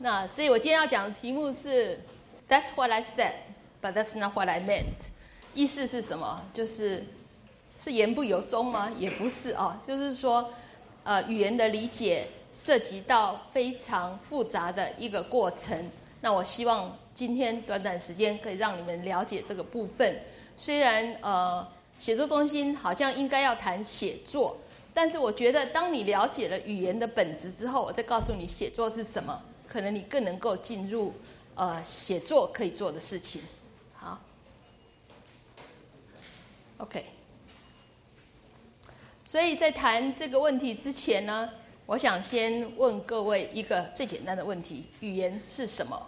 那所以我今天要讲的题目是 That's what I said, but that's not what I meant。意思是什么？是言不由衷吗？也不是啊，就是说，语言的理解涉及到非常复杂的一个过程。那我希望今天短短时间可以让你们了解这个部分。虽然写作中心好像应该要谈写作，但是我觉得当你了解了语言的本质之后，我再告诉你写作是什么，可能你更能够进入写作可以做的事情。好 ，OK。所以在谈这个问题之前呢，我想先问各位一个最简单的问题：语言是什么？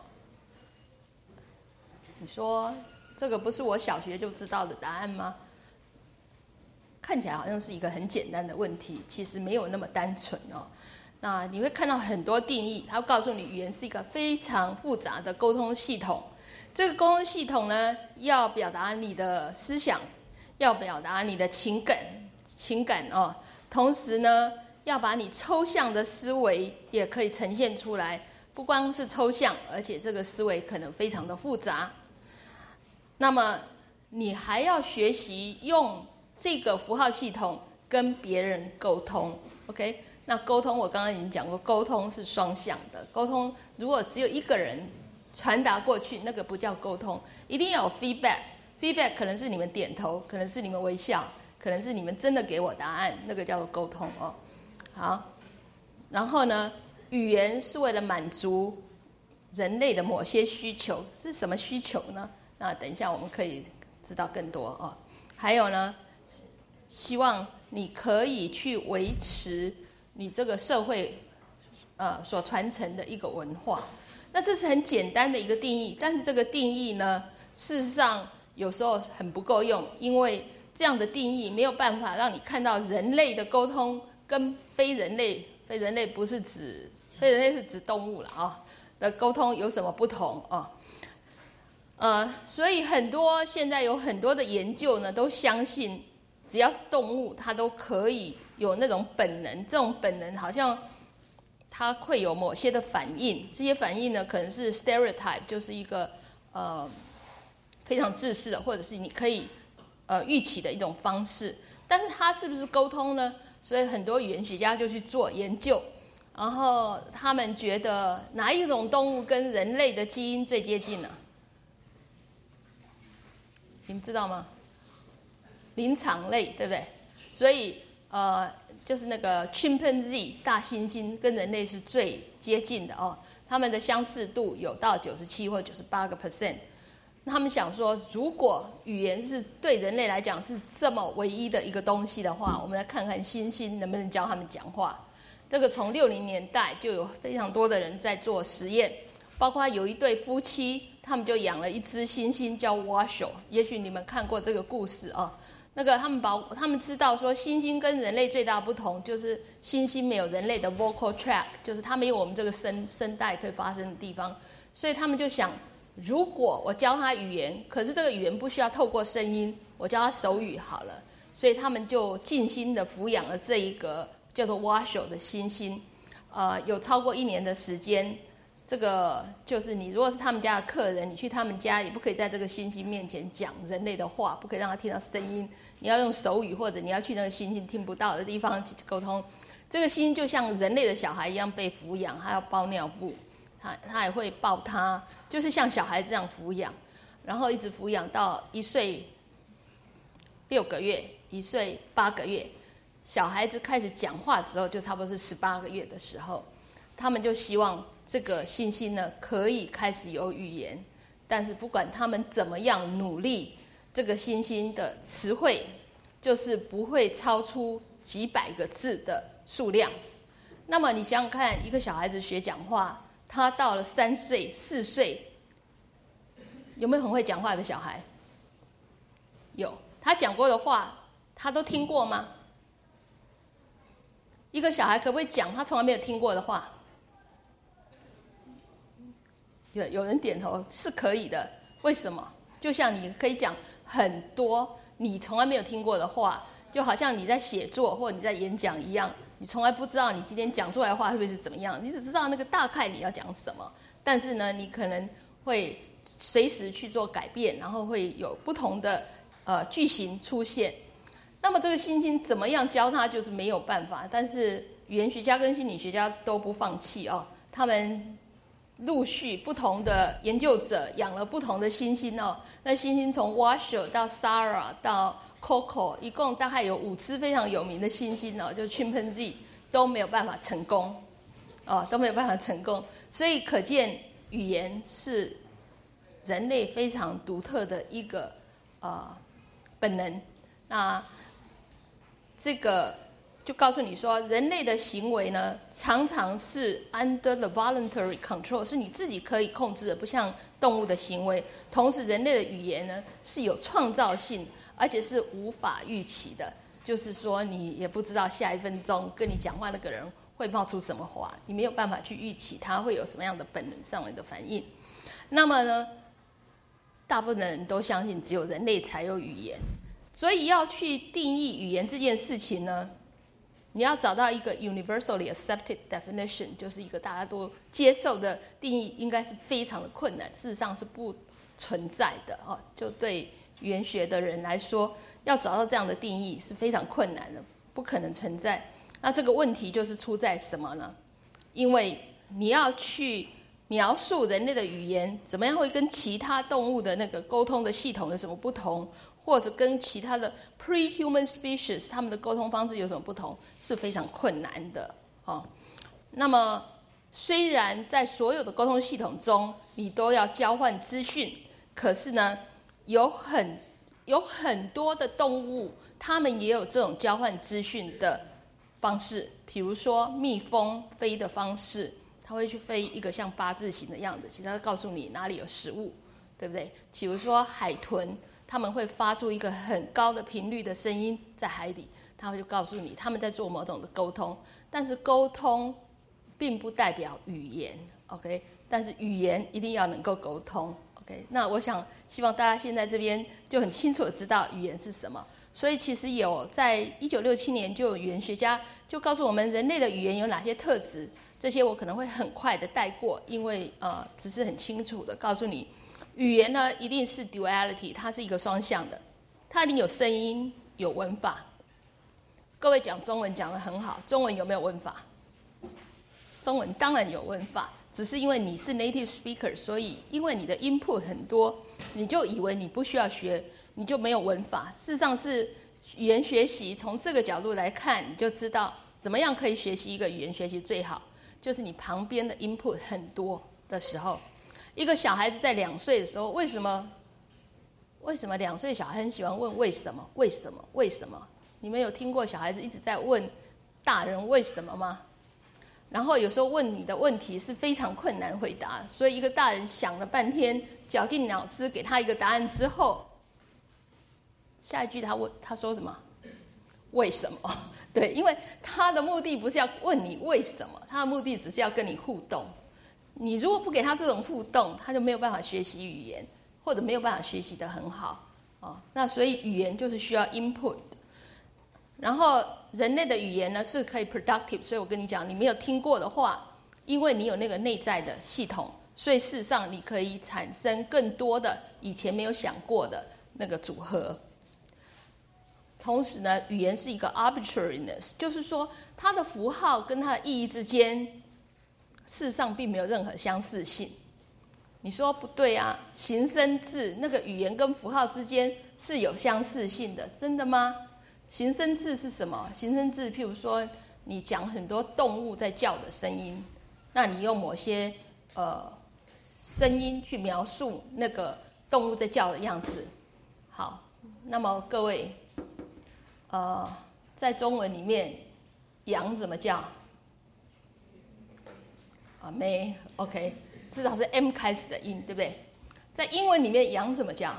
你说这个不是我小学就知道的答案吗？看起来好像是一个很简单的问题，其实没有那么单纯哦。那你会看到很多定义，它会告诉你语言是一个非常复杂的沟通系统。这个沟通系统呢，要表达你的思想，要表达你的情感哦，同时呢，要把你抽象的思维也可以呈现出来。不光是抽象，而且这个思维可能非常的复杂。那么你还要学习用这个符号系统跟别人沟通 ，OK？ 那沟通我刚刚已经讲过，沟通是双向的。沟通如果只有一个人传达过去，那个不叫沟通，一定要有 feedback。feedback 可能是你们点头，可能是你们微笑，可能是你们真的给我答案，那个叫做沟通哦。好，然后呢，语言是为了满足人类的某些需求，是什么需求呢？那等一下我们可以知道更多哦。还有呢，希望你可以去维持你这个社会所传承的一个文化。那这是很简单的一个定义，但是这个定义呢，事实上有时候很不够用，因为这样的定义没有办法让你看到人类的沟通跟非人类不是指非人类是指动物了啊的沟通有什么不同啊？所以现在有很多的研究呢，都相信只要是动物，它都可以有那种本能。这种本能好像它会有某些的反应，这些反应呢，可能是 stereotype， 就是一个非常自私的，或者是你可以预期的一种方式。但是它是不是沟通呢？所以很多语言学家就去做研究，然后他们觉得哪一种动物跟人类的基因最接近呢？你们知道吗？灵长类，对不对？所以就是那个 chimpanzee 大猩猩跟人类是最接近的哦，他们的相似度有到97或98%。他们想说，如果语言是对人类来讲是这么唯一的一个东西的话，我们来看看猩猩能不能教他们讲话。这个从60年代就有非常多的人在做实验，包括有一对夫妻，他们就养了一只猩猩叫 Washoe， 也许你们看过这个故事啊。那个他们知道说，猩猩跟人类最大的不同就是猩猩没有人类的 vocal tract， 就是它没有我们这个声带可以发声的地方，所以他们就想，如果我教他语言，可是这个语言不需要透过声音，我教他手语好了。所以他们就尽心的抚养了这一个叫做 Washoe 的猩猩，有超过1年的时间。这个就是你如果是他们家的客人，你去他们家也不可以在这个猩猩面前讲人类的话，不可以让他听到声音，你要用手语，或者你要去那个猩猩听不到的地方去沟通。这个猩猩就像人类的小孩一样被抚养，他要包尿布，他也会抱他，就是像小孩这样抚养，然后一直抚养到1岁6个月，1岁8个月，小孩子开始讲话之后，就差不多是18个月的时候，他们就希望这个猩猩呢可以开始有语言，但是不管他们怎么样努力，这个猩猩的词汇就是不会超出几百个字的数量。那么你想想看，一个小孩子学讲话，他到了3岁、4岁，有没有很会讲话的小孩？有，他讲过的话，他都听过吗？一个小孩可不可以讲他从来没有听过的话？有人点头，是可以的。为什么？就像你可以讲很多你从来没有听过的话，就好像你在写作或你在演讲一样， 你从来不知道你今天讲出来的话会不会是怎么样，你只知道那个大概你要讲什么，但是呢，你可能会随时去做改变，然后会有不同的句型出现。那么这个星星怎么样教它，就是没有办法。但是语言学家跟心理学家都不放弃哦，他们陆续不同的研究者养了不同的猩猩哦。那猩猩从 Washoe 到 Sarah 到 Coco， 一共大概有5只非常有名的猩猩哦，就 Chimpanzee 都没有办法成功哦，都没有办法成功。所以可见语言是人类非常独特的一个本能。那这个就告诉你说，人类的行为呢，常常是 under the voluntary control， 是你自己可以控制的，不像动物的行为。同时，人类的语言呢是有创造性，而且是无法预期的。就是说，你也不知道下一分钟跟你讲话那个人会冒出什么话，你没有办法去预期他会有什么样的本能上面的反应。那么呢，大部分的人都相信只有人类才有语言。所以要去定义语言这件事情呢，你要找到一个 universally accepted definition， 就是一个大家都接受的定义，应该是非常的困难，事实上是不存在的哦。就对语言学的人来说，要找到这样的定义是非常困难的，不可能存在。那这个问题就是出在什么呢？因为你要去描述人类的语言怎么样会跟其他动物的那个沟通的系统有什么不同，或者跟其他的 pre-human species 他们的沟通方式有什么不同，是非常困难的哦。那么虽然在所有的沟通系统中你都要交换资讯，可是呢，有很多的动物，它们也有这种交换资讯的方式。比如说蜜蜂飞的方式，它会去飞一个像八字形的样子，其实它告诉你哪里有食物，对不对？比如说海豚，他们会发出一个很高的频率的声音在海底，他会就告诉你他们在做某种的沟通。但是沟通并不代表语言 ，OK？ 但是语言一定要能够沟通 ，OK？ 那我想希望大家现在这边就很清楚的知道语言是什么。所以其实有在1967年就有语言学家就告诉我们人类的语言有哪些特质，这些我可能会很快的带过，因为只是很清楚的告诉你，语言呢一定是 duality， 它是一个双向的，它一定有声音有文法。各位讲中文讲得很好，中文有没有文法？中文当然有文法，只是因为你是 native speaker， 所以因为你的 input 很多，你就以为你不需要学，你就没有文法。事实上是语言学习从这个角度来看，你就知道怎么样可以学习一个语言学习最好，就是你旁边的 input 很多的时候。一个小孩子在2岁的时候，为什么2岁小孩很喜欢问为什么？为什么？为什么？你们有听过小孩子一直在问大人为什么吗？然后有时候问你的问题是非常困难回答，所以一个大人想了半天，绞尽脑汁给他一个答案之后，下一句他说什么？为什么？对，因为他的目的不是要问你为什么，他的目的只是要跟你互动。你如果不给他这种互动，他就没有办法学习语言，或者没有办法学习得很好哦。那所以语言就是需要 input。然后人类的语言呢是可以 productive， 所以我跟你讲，你没有听过的话，因为你有那个内在的系统，所以事实上你可以产生更多的以前没有想过的那个组合。同时呢，语言是一个 arbitrariness， 就是说它的符号跟它的意义之间，事实上并没有任何相似性。你说不对啊，形声字那个语言跟符号之间是有相似性的，真的吗？形声字是什么？形声字譬如说你讲很多动物在叫的声音，那你用某些声音去描述那个动物在叫的样子。好，那么各位在中文里面羊怎么叫？没 OK， 至少是 M 开始的音，对不对？在英文里面羊怎么叫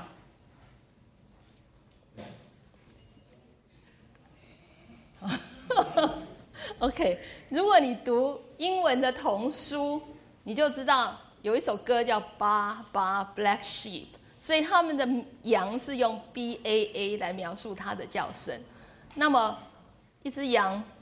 ？OK， 如果你读英文的童书，你就知道有一首歌叫《Baa Baa Black Sheep》，所以他们的羊是用 BAA 来描述它的叫声。那么一只羊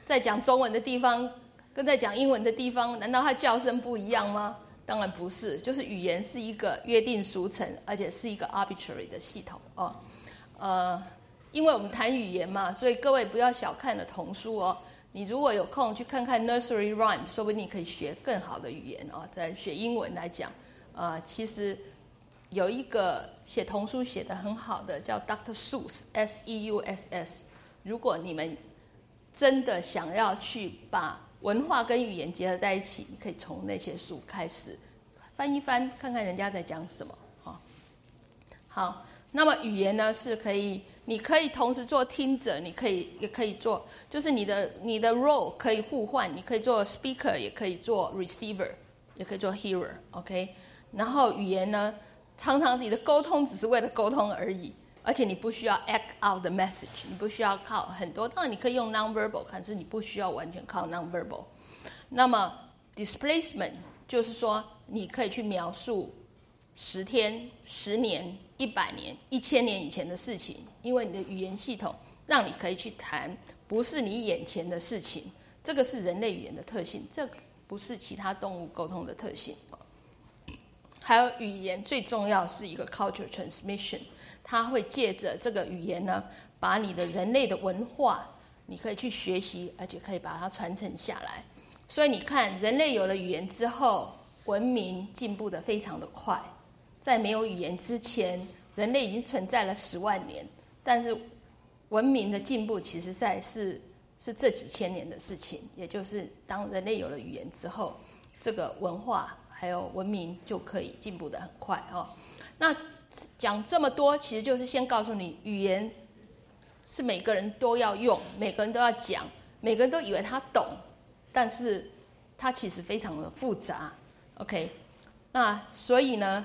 在讲中文的地方跟在讲英文的地方，难道它叫声不一样吗？当然不是，就是语言是一个约定俗成，而且是一个 arbitrary 的系统哦。因为我们谈语言嘛，所以各位不要小看了童书哦。你如果有空去看看 nursery rhyme， 说不定你可以学更好的语言哦。在学英文来讲，其实有一个写童书写得很好的叫 Dr. Seuss S-E-U-S-S。如果你们真的想要去把文化跟语言结合在一起，你可以从那些书开始翻一翻，看看人家在讲什么。好，那么语言呢是可以，你可以同时做听者，也可以做，就是你的 role 可以互换，你可以做 speaker， 也可以做 receiver， 也可以做 hearer，OK？然后语言呢，常常你的沟通只是为了沟通而已。而且你不需要 act out the message， 你不需要靠很多，当然你可以用 non-verbal， 可是你不需要完全靠 non-verbal。那么 displacement 就是说，你可以去描述10天、10年、100年、1000年以前的事情，因为你的语言系统让你可以去谈不是你眼前的事情，这个是人类语言的特性，这不是其他动物沟通的特性。还有语言最重要是一个 culture transmission。它会借着这个语言呢，把你的人类的文化，你可以去学习，而且可以把它传承下来。所以你看，人类有了语言之后，文明进步得非常的快。在没有语言之前，人类已经存在了10万年，但是文明的进步其实是这几千年的事情。也就是当人类有了语言之后，这个文化还有文明就可以进步得很快哦。那讲这么多，其实就是先告诉你，语言是每个人都要用，每个人都要讲，每个人都以为他懂，但是它其实非常的复杂。OK， 那所以呢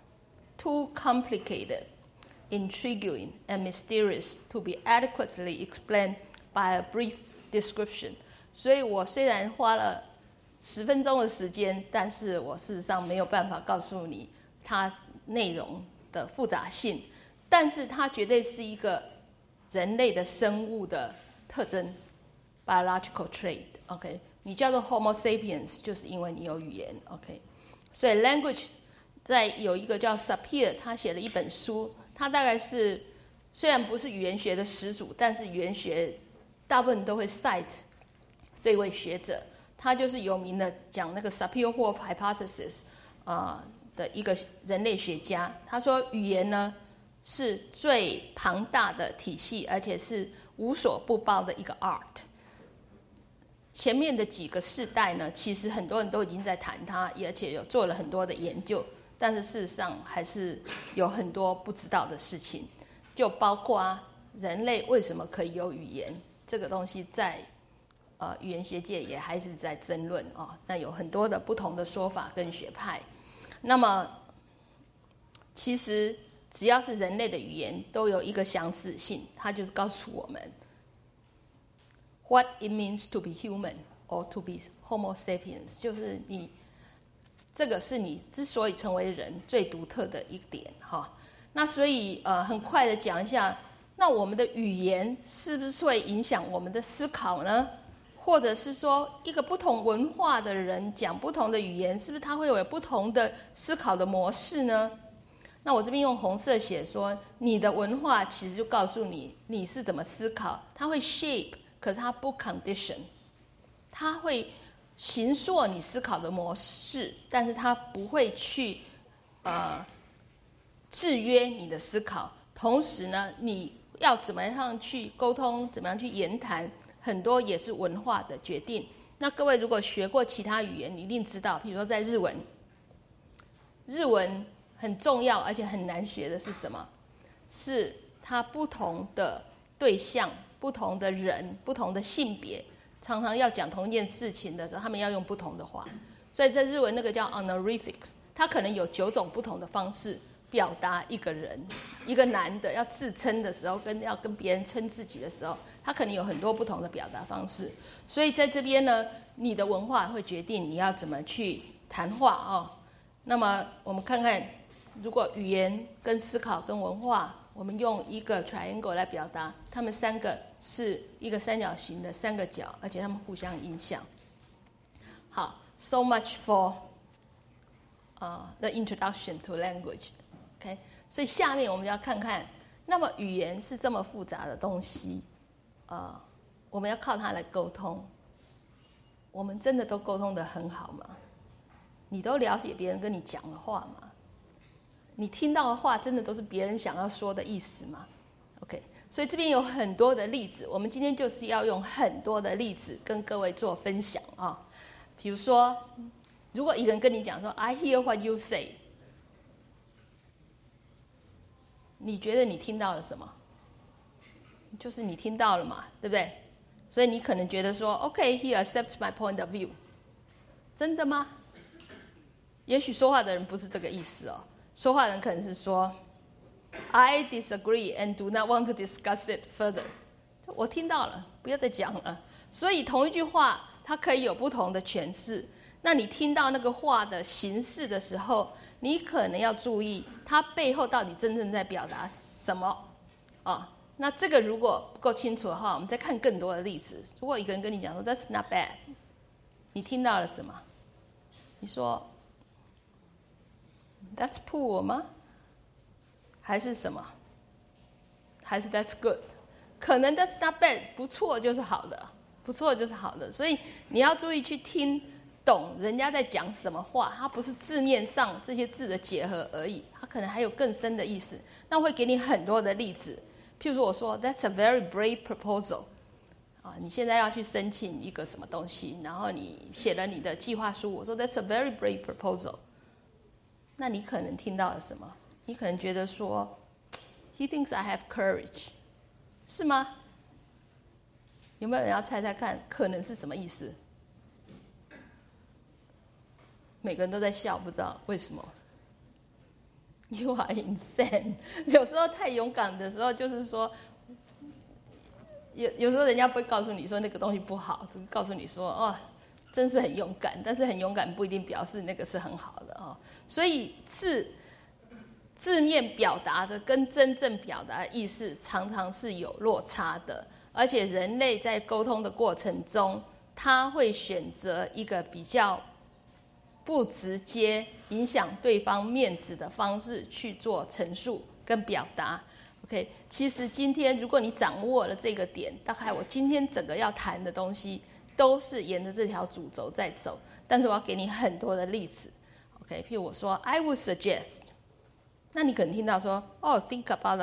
，too complicated, intriguing, and mysterious to be adequately explained by a brief description。所以我虽然花了10分钟的时间，但是我事实上没有办法告诉你它内容的复杂性，但是它绝对是一个人类的生物的特征 biological trait。OK， 你叫做 Homo sapiens， 就是因为你有语言。OK， 所以 language 在有一个叫 Sapir， 他写了一本书，他大概是虽然不是语言学的始祖，但是语言学大部分都会 cite 这位学者，他就是有名的讲那个 Sapir-Whorf hypothesis 的一个人类学家。他说语言呢是最庞大的体系，而且是无所不包的一个 art。 前面的几个世代呢，其实很多人都已经在谈它，而且有做了很多的研究，但是事实上还是有很多不知道的事情，就包括人类为什么可以有语言这个东西在语言学界也还是在争论那有很多的不同的说法跟学派。那么其实只要是人类的语言都有一个相似性，它就是告诉我们 what it means to be human or to be Homo sapiens， 就是你这个是你之所以成为人最独特的一点那所以很快的讲一下，那我们的语言是不是会影响我们的思考呢？或者是说，一个不同文化的人讲不同的语言，是不是他会有不同的思考的模式呢？那我这边用红色写说，你的文化其实就告诉你你是怎么思考，它会 shape， 可是它不 condition， 它会形塑你思考的模式，但是它不会去制约你的思考。同时呢，你要怎么样去沟通，怎么样去言谈，很多也是文化的决定。那各位如果学过其他语言，你一定知道，比如说在日文很重要而且很难学的是什么？是它不同的对象、不同的人、不同的性别，常常要讲同一件事情的时候，他们要用不同的话。所以在日文那个叫 honorifics， 它可能有9种不同的方式表达一个人。一个男的要自称的时候，要跟别人称自己的时候，他可能有很多不同的表达方式。所以在这边呢，你的文化会决定你要怎么去谈话那么我们看看，如果语言跟思考跟文化我们用一个 triangle 来表达，它们三个是一个三角形的三个角，而且它们互相影响。好 ，so much for the introduction to language。OK， 所以下面我们要看看，那么语言是这么复杂的东西，我们要靠它来沟通。我们真的都沟通得很好吗？你都了解别人跟你讲的话吗？你听到的话真的都是别人想要说的意思吗 ？OK， 所以这边有很多的例子，我们今天就是要用很多的例子跟各位做分享啊。比如说，如果一个人跟你讲说 "I hear what you say"， 你觉得你听到了什么？就是你听到了嘛，对不对？所以你可能觉得说 "OK, he accepts my point of view"， 真的吗？也许说话的人不是这个意思哦。说话人可能是说 "I disagree and do not want to discuss it further"， 我听到了，不要再讲了。所以同一句话，它可以有不同的诠释。那你听到那个话的形式的时候，你可能要注意它背后到底真正在表达什么啊？那这个如果不够清楚的话，我们再看更多的例子。如果一个人跟你讲说 "That's not bad"， 你听到了什么？你说That's poor 吗？还是什么？还是 That's good？ 可能 That's not bad， 不错就是好的，不错就是好的。所以你要注意去听懂人家在讲什么话，它不是字面上这些字的结合而已，它可能还有更深的意思。那我会给你很多的例子，譬如说我说 That's a very brave proposal。你现在要去申请一个什么东西，然后你写了你的计划书，我说 That's a very brave proposal。那你可能听到了什么？你可能觉得说 "He thinks I have courage"， 是吗？有没有人要猜猜看，可能是什么意思？每个人都在笑，不知道为什么。You are insane。有时候太勇敢的时候，就是说，有时候人家不会告诉你说那个东西不好，只是告诉你说哦。真是很勇敢，但是很勇敢不一定表示那个是很好的哦。所以字面表达的跟真正表达的意思常常是有落差的，而且人类在沟通的过程中，他会选择一个比较不直接影响对方面子的方式去做陈述跟表达。OK， 其实今天如果你掌握了这个点，大概我今天整个要谈的东西都是沿着这条主轴在走，但是我要给你很多的例子 ，OK？ 譬如我说 I would suggest， 那你可能听到说think about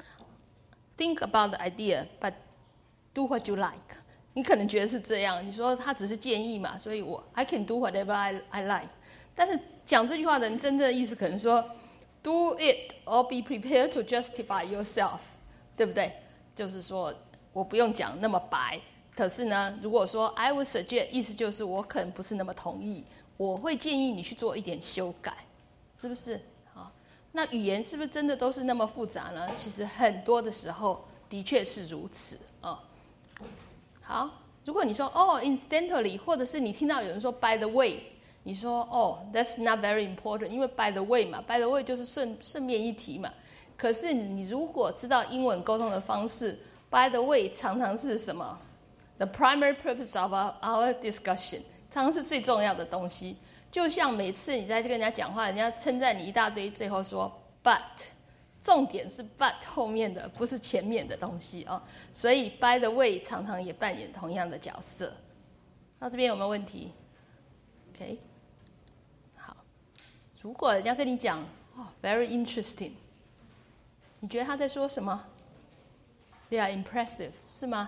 the idea but do what you like， 你可能觉得是这样，你说他只是建议嘛，所以I can do whatever I like， 但是讲这句话的人真正的意思可能说 do it or be prepared to justify yourself， 对不对？就是说我不用讲那么白。可是呢，如果说 I would suggest， 意思就是我可能不是那么同意，我会建议你去做一点修改，是不是？好，那语言是不是真的都是那么复杂呢？其实很多的时候的确是如此啊。好，如果你说incidentally， 或者是你听到有人说 by the way， 你说that's not very important， 因为 by the way 嘛 ，by the way 就是顺便一提嘛。可是你如果知道英文沟通的方式 ，by the way 常常是什么？The primary purpose of our discussion， 常常是最重要的东西。就像每次你在跟人家讲话，人家称赞你一大堆，最后说 but， 重点是 but 后面的，不是前面的东西哦。所以 by the way 常常也扮演同样的角色。到这边有没有问题 ？OK， 好。如果人家跟你讲very interesting， 你觉得他在说什么 ？They are impressive， 是吗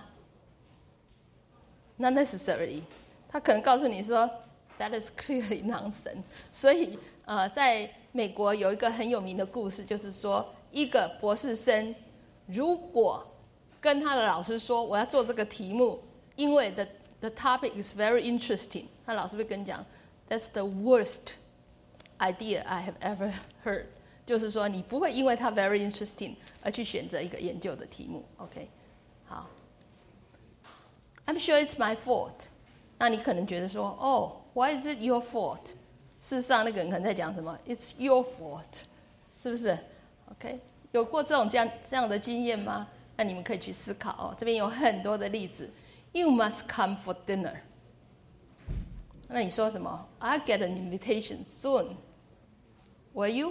？Not necessarily， 他可能告诉你说 That is clearly nonsense。所以在美国有一个很有名的故事，就是说一个博士生如果跟他的老师说我要做这个题目，因为 the topic is very interesting， 他老师会跟你讲 That's the worst idea I have ever heard， 就是说你不会因为它 very interesting 而去选择一个研究的题目。OK， 好。I'm sure it's my fault。那你可能觉得说why is it your fault？ 事实上，那个人可能在讲什么 ？It's your fault， 是不是 ？OK， 有过这样的经验吗？那你们可以去思考哦。这边有很多的例子。You must come for dinner。那你说什么 ？I get an invitation soon. Will you？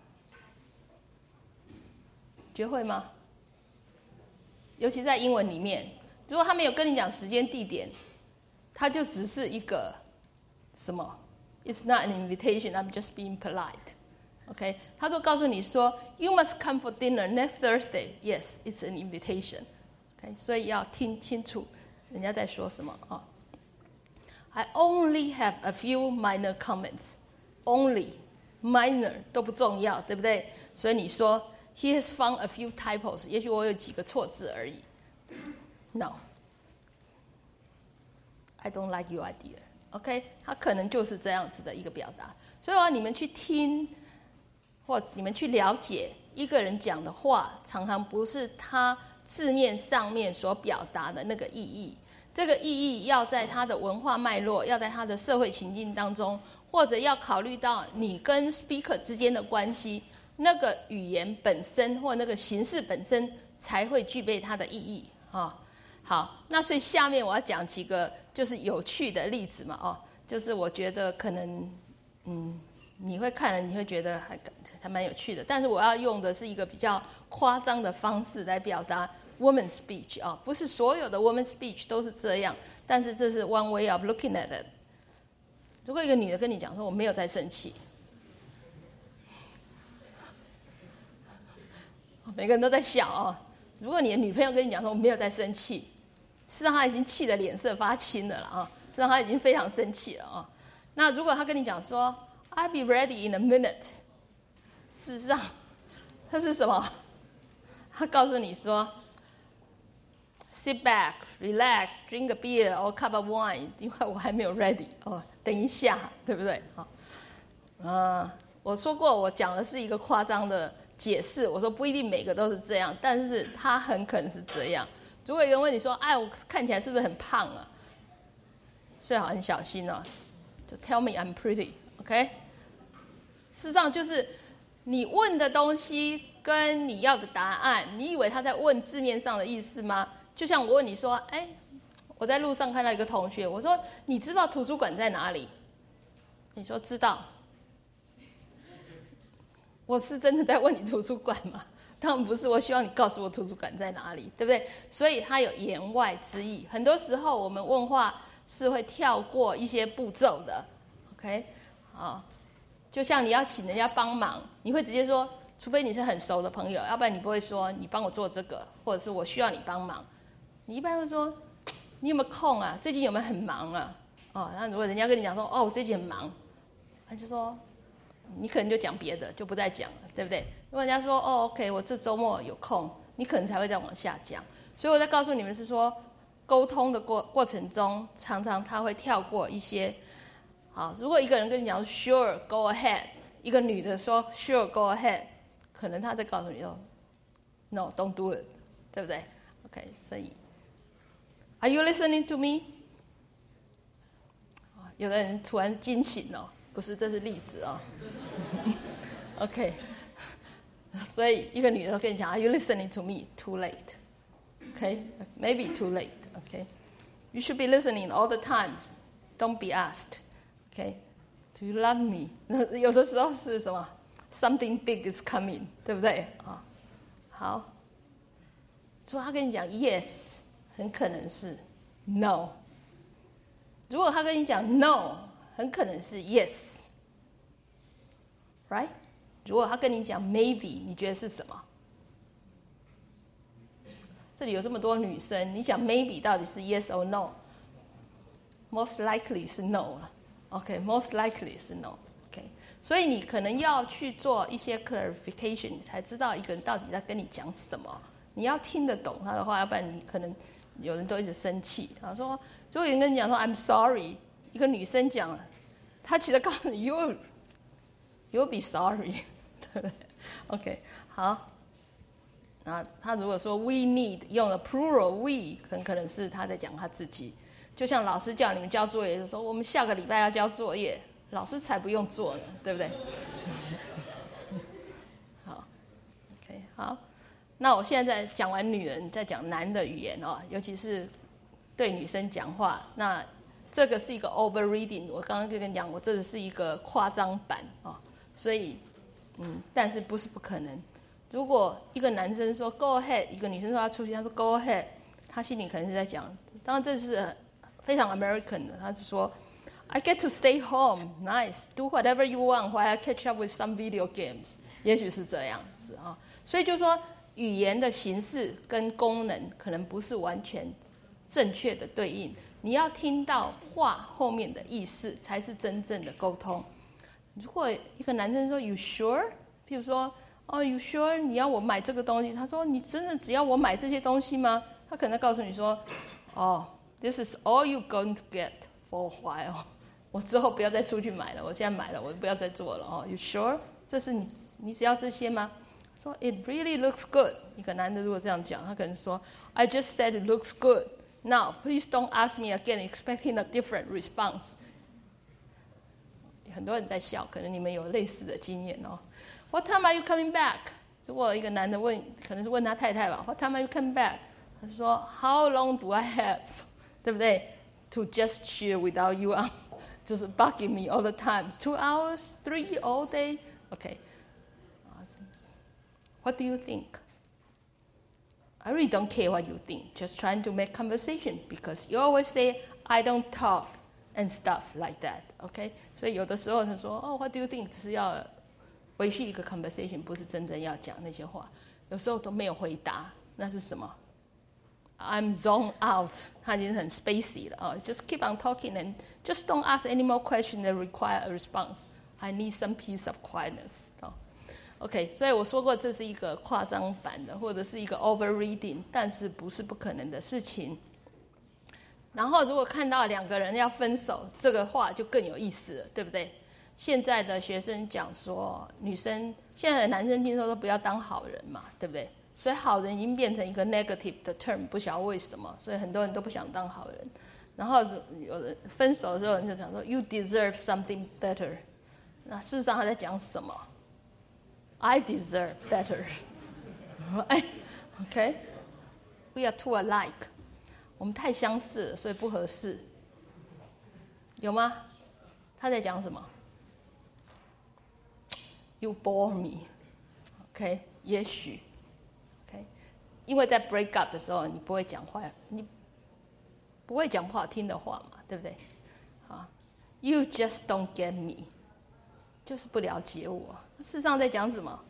学会吗？尤其在英文里面，如果他没有跟你讲时间地点，他就只是一个什么 ？It's not an invitation. I'm just being polite. OK， 他都告诉你说 ，You must come for dinner next Thursday. Yes, it's an invitation. OK， 所以要听清楚人家在说什么啊。I only have a few minor comments. Only minor 都不重要，对不对？所以你说 He has found a few typos. 也许我有几个错字而已。No, I don't like your idea. OK， 他可能就是这样子的一个表达。所以你们去听，或你们去了解一个人讲的话，常常不是他字面上面所表达的那个意义。这个意义要在他的文化脉络，要在他的社会情境当中，或者要考虑到你跟 speaker 之间的关系，那个语言本身或那个形式本身才会具备它的意义啊。好，那所以下面我要讲几个就是有趣的例子嘛，哦，就是我觉得可能你会看了你会觉得还蛮有趣的，但是我要用的是一个比较夸张的方式来表达 woman speech 啊，不是所有的 woman speech 都是这样，但是这是 one way of looking at it。如果一个女的跟你讲说我没有在生气，每个人都在笑啊。如果你的女朋友跟你讲说我没有在生气，事实上她已经气得脸色发青了啊，事实上她已经非常生气了啊。那如果她跟你讲说 I'll be ready in a minute， 事实上她是什么？她告诉你说 sit back, relax, drink a beer or a cup of wine， 因为我还没有 ready 哦，等一下，对不对？我说过我讲的是一个夸张的解释，我说不一定每个都是这样，但是它很可能是这样。如果有人问你说，哎，我看起来是不是很胖啊？最好很小心哦，就 tell me I'm pretty，OK？ 事实上就是你问的东西跟你要的答案，你以为他在问字面上的意思吗？就像我问你说，哎，我在路上看到一个同学，我说你知道图书馆在哪里？你说知道。我是真的在问你图书馆吗？当然不是，我希望你告诉我图书馆在哪里，对不对？所以它有言外之意。很多时候我们问话是会跳过一些步骤的 ，OK？ 好，就像你要请人家帮忙，你会直接说，除非你是很熟的朋友，要不然你不会说你帮我做这个，或者是我需要你帮忙。你一般会说你有没有空啊？最近有没有很忙啊？哦，那如果人家跟你讲说哦我最近很忙，他就说。你可能就讲别的，就不再讲了，对不对？如果人家说哦 ，OK， 我这周末有空，你可能才会再往下讲。所以我在告诉你们是说，沟通的过程中，常常他会跳过一些。好，如果一个人跟你讲 Sure, go ahead， 一个女的说 Sure, go ahead， 可能他在告诉你说 No, don't do it， 对不对 ？OK， 所以 Are you listening to me？ 有的人突然惊醒哦。不是，这是例子哦。OK， 所以一个女的跟你讲 ，Are you listening to me? Too late. OK, maybe too late. OK, you should be listening all the time. Don't be asked. OK, do you love me? 有的时候是什么 ？Something big is coming， 对不对啊？好，如果他跟你讲 yes， 很可能是 no。如果他跟你讲 no。很可能是 yes， right？ 如果他跟你讲 maybe， 你觉得是什么？这里有这么多女生，你讲 maybe 到底是 yes or no？Most likely 是 no 了 ，OK？Most likely 是 no，OK？所以你可能要去做一些 clarification， 你才知道一个人到底在跟你讲什么。你要听得懂他的话，要不然你可能有人都一直生气。然后说，如果有人跟你讲说 I'm sorry。一个女生讲，她其实告诉你 you'll be sorry， 对不对 ？OK， 好。那她如果说 we need 用了 plural we， 很可能是她在讲她自己。就像老师叫你们交作业，就说我们下个礼拜要交作业，老师才不用做呢，对不对？好 ，OK， 好，那我现在讲完女人，再讲男的语言哦，尤其是对女生讲话。那这个是一个 overreading， 我刚刚就跟你讲，我这个是一个夸张版哦，所以但是不是不可能。如果一个男生说 go ahead， 一个女生说要出去，他说 go ahead， 他心里可能是在讲，当然这是非常 American 的，他是说 I get to stay home, nice, do whatever you want while I catch up with some video games， 也许是这样子啊。所以就说语言的形式跟功能可能不是完全正确的对应，你要听到话后面的意思才是真正的沟通。如果一个男生说 You sure？ 譬如说You sure 你要我买这个东西？他说你真的只要我买这些东西吗？他可能告诉你说This is all you're going to get for a while。我之后不要再出去买了，我现在买了，我不要再做了You sure？ 这是你只要这些吗？说 It really looks good。一个男的如果这样讲，他可能说 I just said it looks good. Now please don't ask me again, expecting a different response。很多人在笑，可能你们有类似的经验哦。What time are you coming back？ 如果一个男的问，可能是问他太太吧 ，What time are you coming back？ 他说 How long do I have？ 对不对 ？To just chill without you on， 就是 bugging me all the time。2 hours, 3 all day。OK。What do you think? I really don't care what you think. Just trying to make conversation because you always say I don't talk and stuff like that. OK？ 所以有的时候他说What do you think？ 只是要维续一个 conversation， 不是真正要讲那些话。有时候都没有回答，那是什么 ？I'm zoned out， 他已经很 spacey 了Just keep on talking and just don't ask any more questions that require a response. I need some peace of quietness。OK， 所以我说过这是一个夸张版的，或者是一个 overreading， 但是不是不可能的事情。然后如果看到两个人要分手，这个话就更有意思了，对不对？现在的学生讲说，女生现在的男生听说都不要当好人嘛，对不对？所以好人已经变成一个 negative 的 term， 不晓得为什么，所以很多人都不想当好人。然后有人分手的时候，人就讲说 You deserve something better。那事实上他在讲什么？I deserve better. OK? We are too alike. 我们太相似了，所以不合适。有吗？他在讲什么 ？You bore me. OK? 也许 OK? 因为在 break up 的时候，你不会讲话，你不会讲不好听的话嘛，对不对？You just don't get me. 就是不了解我。事实上在讲什么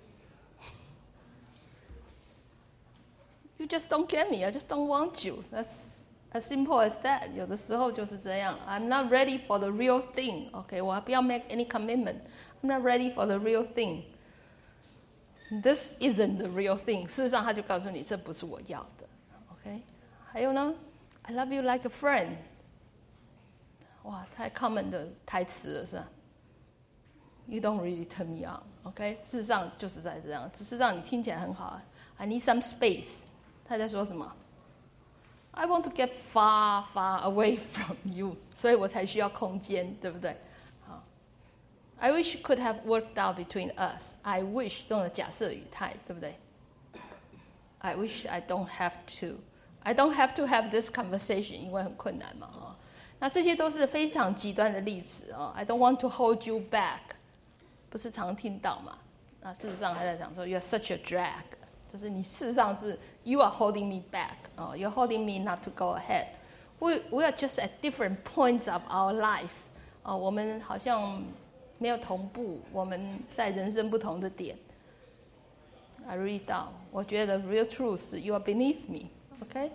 ？You just don't get me. I just don't want you. That's as simple as that. 有的时候就是这样。I'm not ready for the real thing. OK， 我不要 make any commitment. I'm not ready for the real thing. This isn't the real thing. 事实上，他就告诉你，这不是我要的。OK， 还有呢 ，I love you like a friend. 哇，太 common 的台词了，是吧？You don't really turn me on, OK？ 事实上就是在这样，只是让你听起来很好。I need some space。他在说什么 ？I want to get far, far away from you， 所以我才需要空间，对不对？好 ，I wish it could have worked out between us. I wish 用了假设语态，对不对 ？I wish I don't have to. I don't have to have this conversation， 因为很困难嘛，那这些都是非常极端的例子I don't want to hold you back。不是常听到嘛？那事实上还在讲说 ，You're such a drag， 就是你事实上是 You are holding me back，You're holding me not to go ahead。We are just at different points of our life，我们好像没有同步，我们在人生不同的点。I read down， 我觉得 real truth 是 You are beneath me，OK？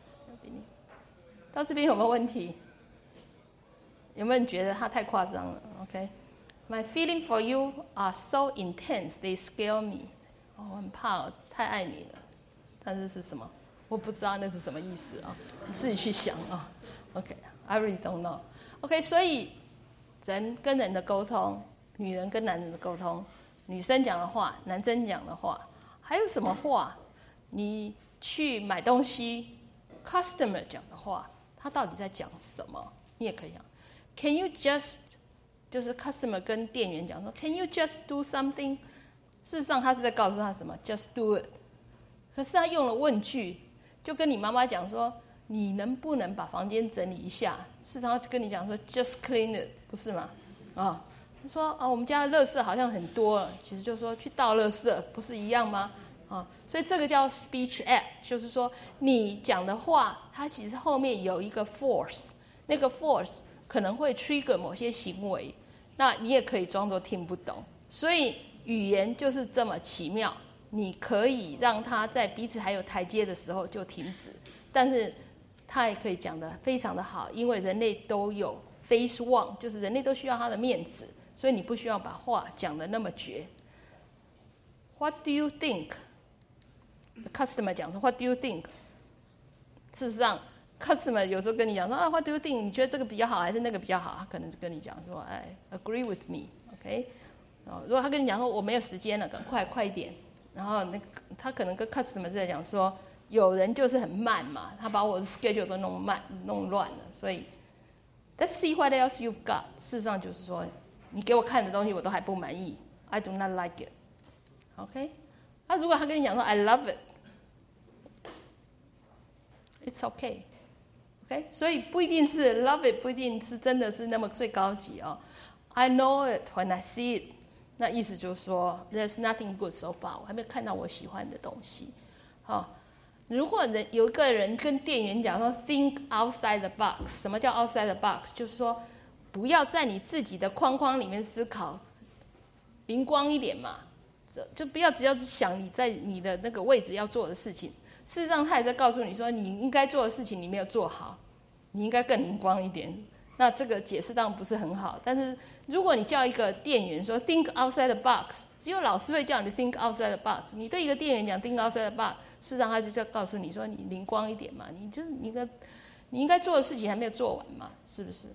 到这边有没有问题？有没有人觉得他太夸张了 ？OK？My feeling for you are so intense, they scare me。我很怕，太爱你了。但是是什么？我不知道那是什么意思你自己去想OK，I really don't know。OK， 所以人跟人的沟通，女人跟男人的沟通，女生讲的话，男生讲的话，还有什么话？你去买东西 ，customer 讲的话，他到底在讲什么？你也可以讲 ，Can you just 就是 customer 跟店员讲说 ，Can you just do something？ 事实上，他是在告诉他什么 ？Just do it。 可是他用了问句，就跟你妈妈讲说，你能不能把房间整理一下？事实上跟你讲说 just clean it， 不是吗？说我们家的垃圾好像很多了，其实就说去倒垃圾，不是一样吗？所以这个叫 speech act， 就是说你讲的话，它其实后面有一个 force， 那个 force 可能会 trigger 某些行为，那你也可以装作听不懂。所以语言就是这么奇妙，你可以让它在彼此还有台阶的时候就停止，但是它也可以讲得非常的好，因为人类都有 face one， 就是人类都需要他的面子，所以你不需要把话讲得那么绝。What do you think？ Customer 讲说 What do you think？ 事实上 Customer 有时候跟你讲说What do you think？ 你觉得这个比较好还是那个比较好？他可能是跟你讲说agree with me，OK？如果他跟你讲说我没有时间了，快一点，然后他可能跟 Customer 在讲说有人就是很慢嘛，他把我的 schedule 都弄乱了，所以 Let's see what else you've got。 事实上就是说你给我看的东西我都还不满意， I do not like it，OK？如果他跟你讲说 I love it， it's okay，OK？ 所以不一定是 love it， 不一定是真的是那么最高级I know it when I see it， 那意思就是说 there's nothing good so far， 我还没有看到我喜欢的东西。如果有一个人跟店员讲说 think outside the box， 什么叫 outside the box？ 就是说不要在你自己的框框里面思考，灵光一点嘛，就不要只要想你在你的那个位置要做的事情。事实上他也在告诉你说你应该做的事情你没有做好，你应该更灵光一点。那这个解释当然不是很好，但是如果你叫一个店员说 think outside the box， 只有老师会叫你 think outside the box， 你对一个店员讲 think outside the box， 事实上他就在告诉你说你灵光一点嘛，你应该做的事情还没有做完嘛，是不是？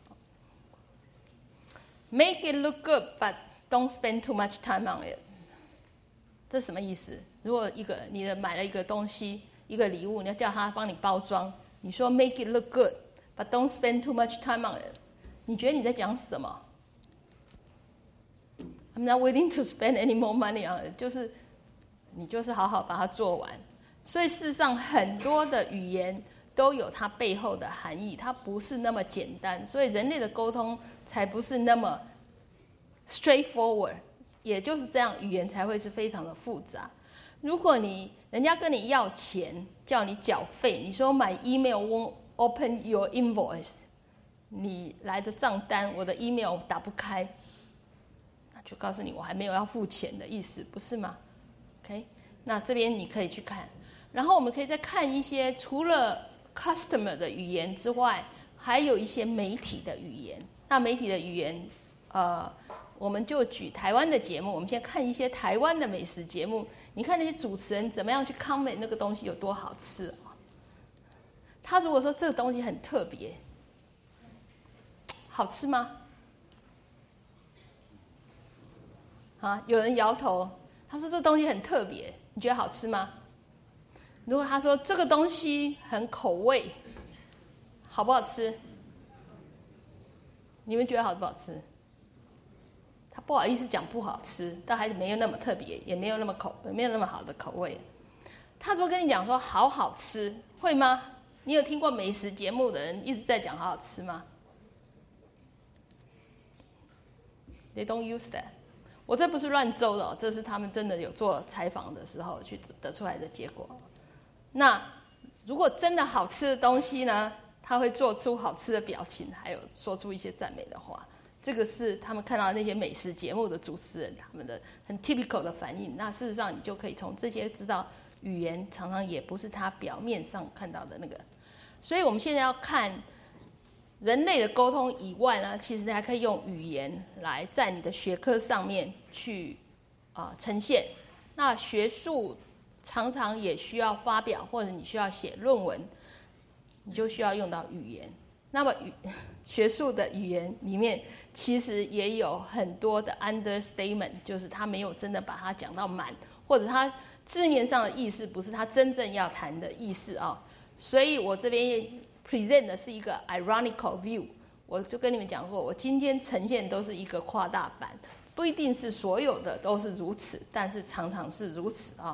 Make it look good but don't spend too much time on it， 这是什么意思？如果你买了一个东西，一个礼物，你要叫他帮你包装，你说 make it look good but don't spend too much time on it， 你觉得你在讲什么？ I'm not willing to spend any more money on it， 就是你就是好好把它做完。所以事实上很多的语言都有它背后的含义，它不是那么简单，所以人类的沟通才不是那么 straightforward， 也就是这样，语言才会是非常的复杂。如果人家跟你要钱，叫你缴费，你说买 email won't open your invoice， 你来的账单我的 email 打不开，那就告诉你我还没有要付钱的意思，不是吗 ？OK， 那这边你可以去看，然后我们可以再看一些除了 customer 的语言之外，还有一些媒体的语言。那媒体的语言，我们就举台湾的节目，我们先看一些台湾的美食节目。你看那些主持人怎么样去 comment 那个东西有多好吃他如果说这个东西很特别，好吃吗？有人摇头，他说这个东西很特别，你觉得好吃吗？如果他说这个东西很口味，好不好吃？你们觉得好不好吃？他不好意思讲不好吃，但还是没有那么特别，也没有那么好的口味。他如果跟你讲说好好吃，会吗？你有听过美食节目的人一直在讲好好吃吗？ They don't use that。我这不是乱诌的这是他们真的有做采访的时候去得出来的结果。那如果真的好吃的东西呢，他会做出好吃的表情，还有说出一些赞美的话。这个是他们看到那些美食节目的主持人他们的很 typical 的反应。那事实上你就可以从这些知道语言常常也不是他表面上看到的那个。所以我们现在要看人类的沟通以外呢，其实还可以用语言来在你的学科上面去呈现。那学术常常也需要发表，或者你需要写论文，你就需要用到语言。那么学术的语言里面其实也有很多的 understatement， 就是他没有真的把它讲到满，或者他字面上的意思不是他真正要谈的意思所以我这边 present 的是一个 ironical view。 我就跟你们讲过，我今天呈现都是一个夸大版，不一定是所有的都是如此，但是常常是如此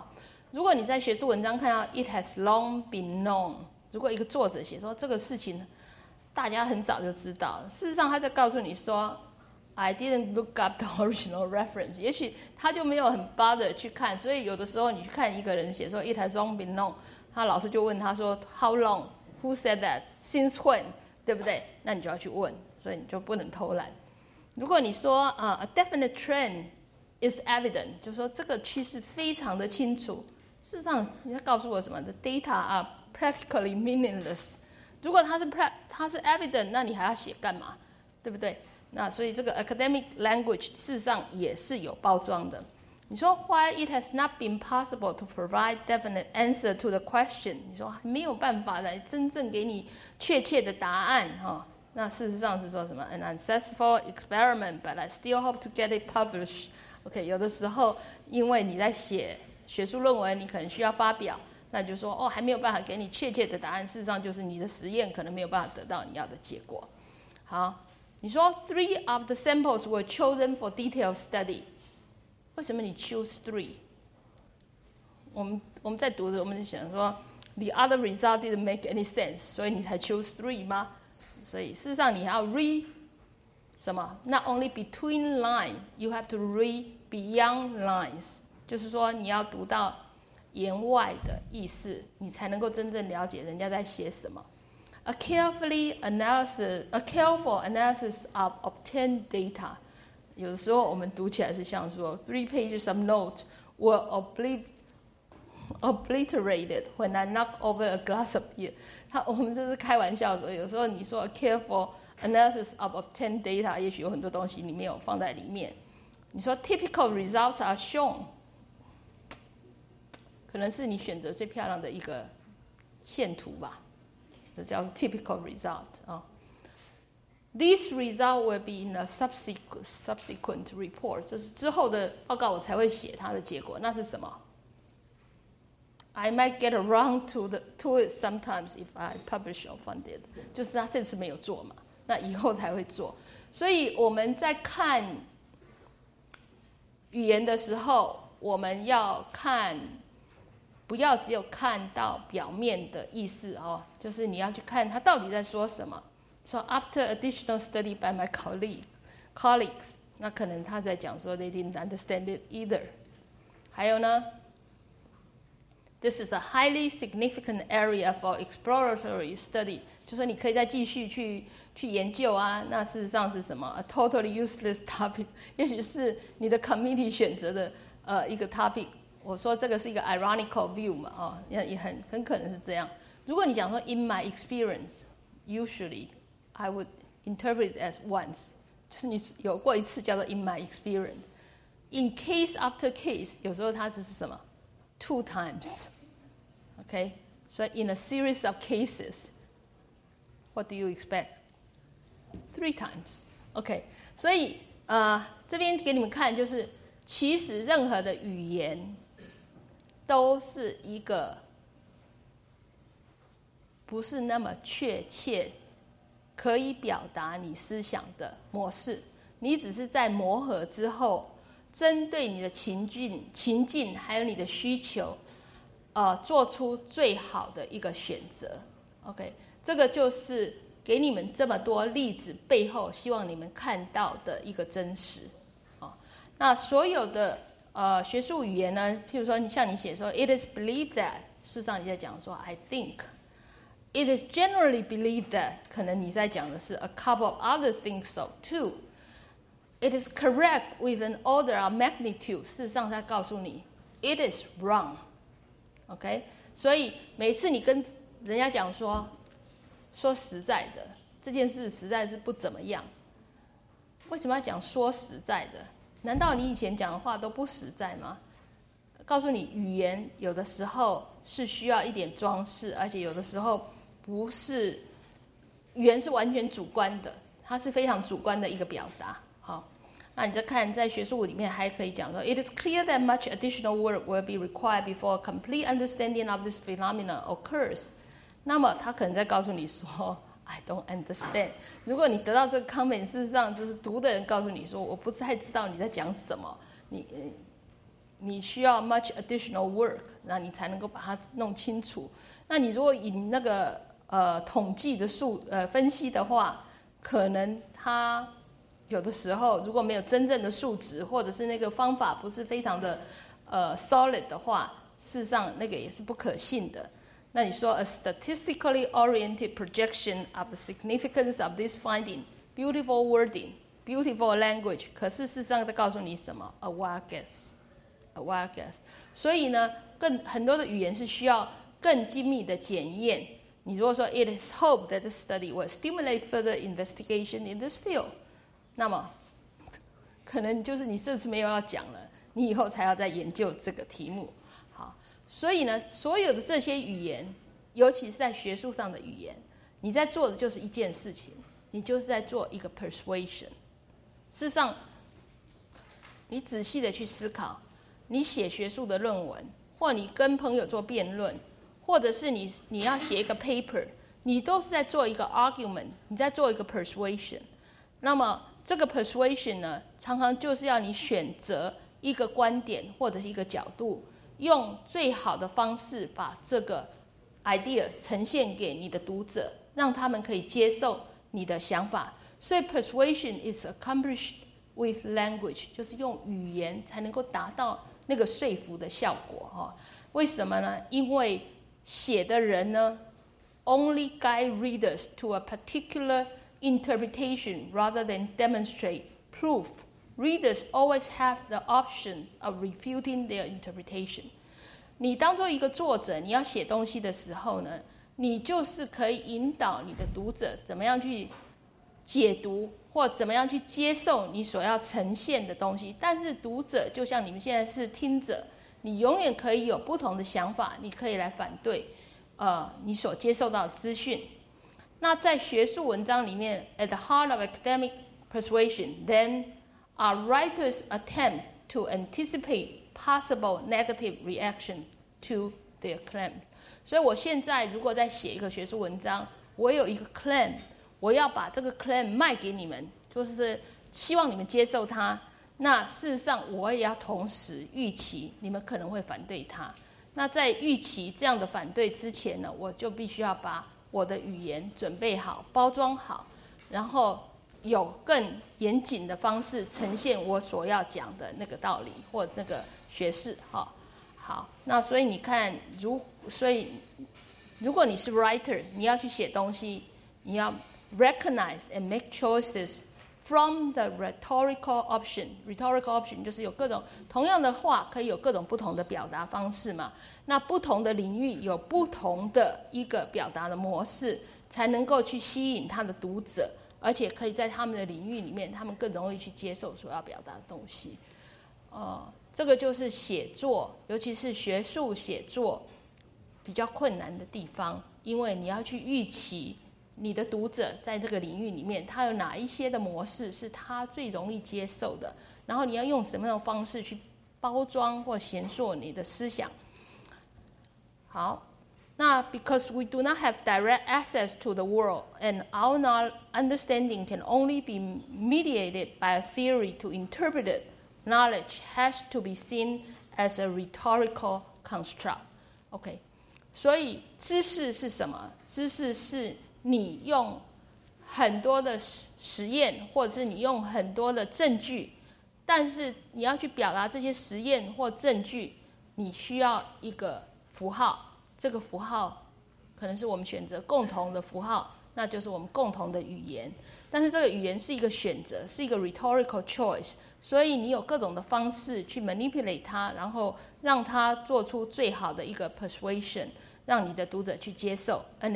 如果你在学术文章看到 "It has long been known"， 如果一个作者写说这个事情大家很早就知道，事实上他在告诉你说 "I didn't look up the original reference"， 也许他就没有很 bother 去看，所以有的时候你去看一个人写说 "It has long been known"， 他老师就问他说 "How long? Who said that? Since when?" 对不对？那你就要去问，所以你就不能偷懒。如果你说a definite trend is evident， 就说这个趋势非常的清楚。事实上，你要告诉我什么？ The data are practically meaningless。如果它是 evident， 那你还要写干嘛？对不对？那所以这个 academic language 事实上也是有包装的。你说 Why it has not been possible to provide definite answer to the question？ 你说没有办法来真正给你确切的答案哈。那事实上是说什么 ？An unsuccessful experiment, but I still hope to get it published. OK， 有的时候因为你在写学术论文，你可能需要发表，那就说还没有办法给你确切的答案。事实上就是你的实验可能没有办法得到你要的结果。好，你说 3 of the samples were chosen for detailed study， 为什么你 choose 3？ 我们在读的，我们就想说 the other result didn't make any sense， 所以你才 choose 3吗？所以事实上你还要 read 什么 ？Not only between line, you have to read beyond lines。就是说你要读到言外的意思，你才能够真正了解人家在写什么。A careful analysis of obtained data。有的时候我们读起来是像说 3 pages of notes were obliterated when I knock over a glass of beer。我们这是开玩笑的时候，有时候你说 a careful analysis of obtained data， 也许有很多东西你没有放在里面。你说 typical results are shown， 可能是你选择最漂亮的一个线图吧，这叫 typical result 啊。These results will be in a subsequent report， 这是之后的报告我才会写它的结果。那是什么？I might get around to it sometimes if I publish or fund it， 就是他这次没有做嘛，那以后才会做。所以我们在看语言的时候，我们要看，不要只有看到表面的意思哦，就是你要去看他到底在说什么。So after additional study by my colleagues， 那可能他在讲说 they didn't understand it either。还有呢？ This is a highly significant area for exploratory study， 就说你可以再继续去研究啊。那事实上是什么 ？A totally useless topic， 也许是你的 committee 选择的一个 topic。我说这个是一个 ironical view 嘛，也很可能是这样。如果你讲说 in my experience， usually I would interpret it as once， 就是你有过一次叫做 in my experience。In case after case， 有时候它只是什么？ 2 times， OK， 所以 in a series of cases， what do you expect? 3 times， OK， 所以这边给你们看，就是其实任何的语言都是一个不是那么确切可以表达你思想的模式，你只是在磨合之后，针对你的情境还有你的需求，做出最好的一个选择。OK， 这个就是给你们这么多例子背后，希望你们看到的一个真实。那所有的学术语言呢，譬如说像你写说 "It is believed that"， 事实上你在讲说 "I think"。It is generally believed that， 可能你在讲的是 a couple of other things so too。It is correct with an order of magnitude， 事实上在告诉你 it is wrong。OK， 所以每次你跟人家讲说实在的这件事实在是不怎么样，为什么要讲说实在的？难道你以前讲的话都不实在吗？告诉你，语言有的时候是需要一点装饰，而且有的时候不是，语言是完全主观的，它是非常主观的一个表达。好，那你再看在学术里面还可以讲说 ，It is clear that much additional work will be required before a complete understanding of this phenomenon occurs。那么他可能在告诉你说 ，I don't understand。如果你得到这个 comment， 事实上就是读的人告诉你说，我不太知道你在讲什么， 你需要 much additional work， 那你才能够把它弄清楚。那你如果以那个统计的分析的话，可能它有的时候如果没有真正的数值，或者是那个方法不是非常的solid 的话，事实上那个也是不可信的。那你说 a statistically oriented projection of the significance of this finding, beautiful wording, beautiful language， 可是事实上在告诉你什么 ？A wild guess， a wild guess。所以呢，很多的语言是需要更精密的检验。你如果说 it is hoped that the study will stimulate further investigation in this field， 那么可能就是你这次没有要讲了，你以后才要再研究这个题目。好，所以呢，所有的这些语言，尤其是在学术上的语言，你在做的就是一件事情，你就是在做一个 persuasion。事实上，你仔细的去思考，你写学术的论文，或你跟朋友做辩论，或者是你要写一个 paper， 你都是在做一个 argument， 你在做一个 persuasion。那么这个 persuasion 呢，常常就是要你选择一个观点或者是一个角度，用最好的方式把这个 idea 呈现给你的读者，让他们可以接受你的想法。所以 persuasion is accomplished with language， 就是用语言才能够达到那个说服的效果。为什么呢？因为写的人呢 only guide readers to a particular interpretation rather than demonstrate proof. Readers always have the options of refuting their interpretation. 你当做一个作者，你要写东西的时候呢，你就是可以引导你的读者怎么样去解读，或怎么样去接受你所要呈现的东西。但是读者就像你们现在是听者，你永远可以有不同的想法，你可以来反对你所接受到的资讯。那在学术文章里面 ，at the heart of academic persuasion, then are writers' attempt to anticipate possible negative reaction to their claim。所以我现在如果在写一个学术文章，我有一个 claim， 我要把这个 claim 卖给你们，就是希望你们接受它。那事实上，我也要同时预期你们可能会反对它。那在预期这样的反对之前呢，我就必须要把我的语言准备好、包装好，然后有更严谨的方式呈现我所要讲的那个道理或那个学识。好，那所以你看，所以如果你是 writer， 你要去写东西，你要 recognize and make choices from the rhetorical option. Rhetorical option 就是有各种同样的话可以有各种不同的表达方式嘛。那不同的领域有不同的一个表达的模式，才能够去吸引他的读者，而且可以在他们的领域里面，他们更容易去接受所要表达的东西。这个就是写作，尤其是学术写作比较困难的地方，因为你要去预期你的读者在这个领域里面，他有哪一些的模式是他最容易接受的，然后你要用什么样的方式去包装或形塑你的思想。好，那 because we do not have direct access to the world and our understanding can only be mediated by a theory to interpret it, knowledge has to be seen as a rhetorical construct. OK， 所以知识是什么？知识是你用很多的实验，或者是你用很多的证据，但是你要去表达这些实验或证据，你需要一个符号。这个符号可能是我们选择共同的符号，那就是我们共同的语言。但是这个语言是一个选择，是一个 rhetorical choice， 所以你有各种的方式去 manipulate 它，然后让它做出最好的一个 persuasion， 让你的读者去接受。An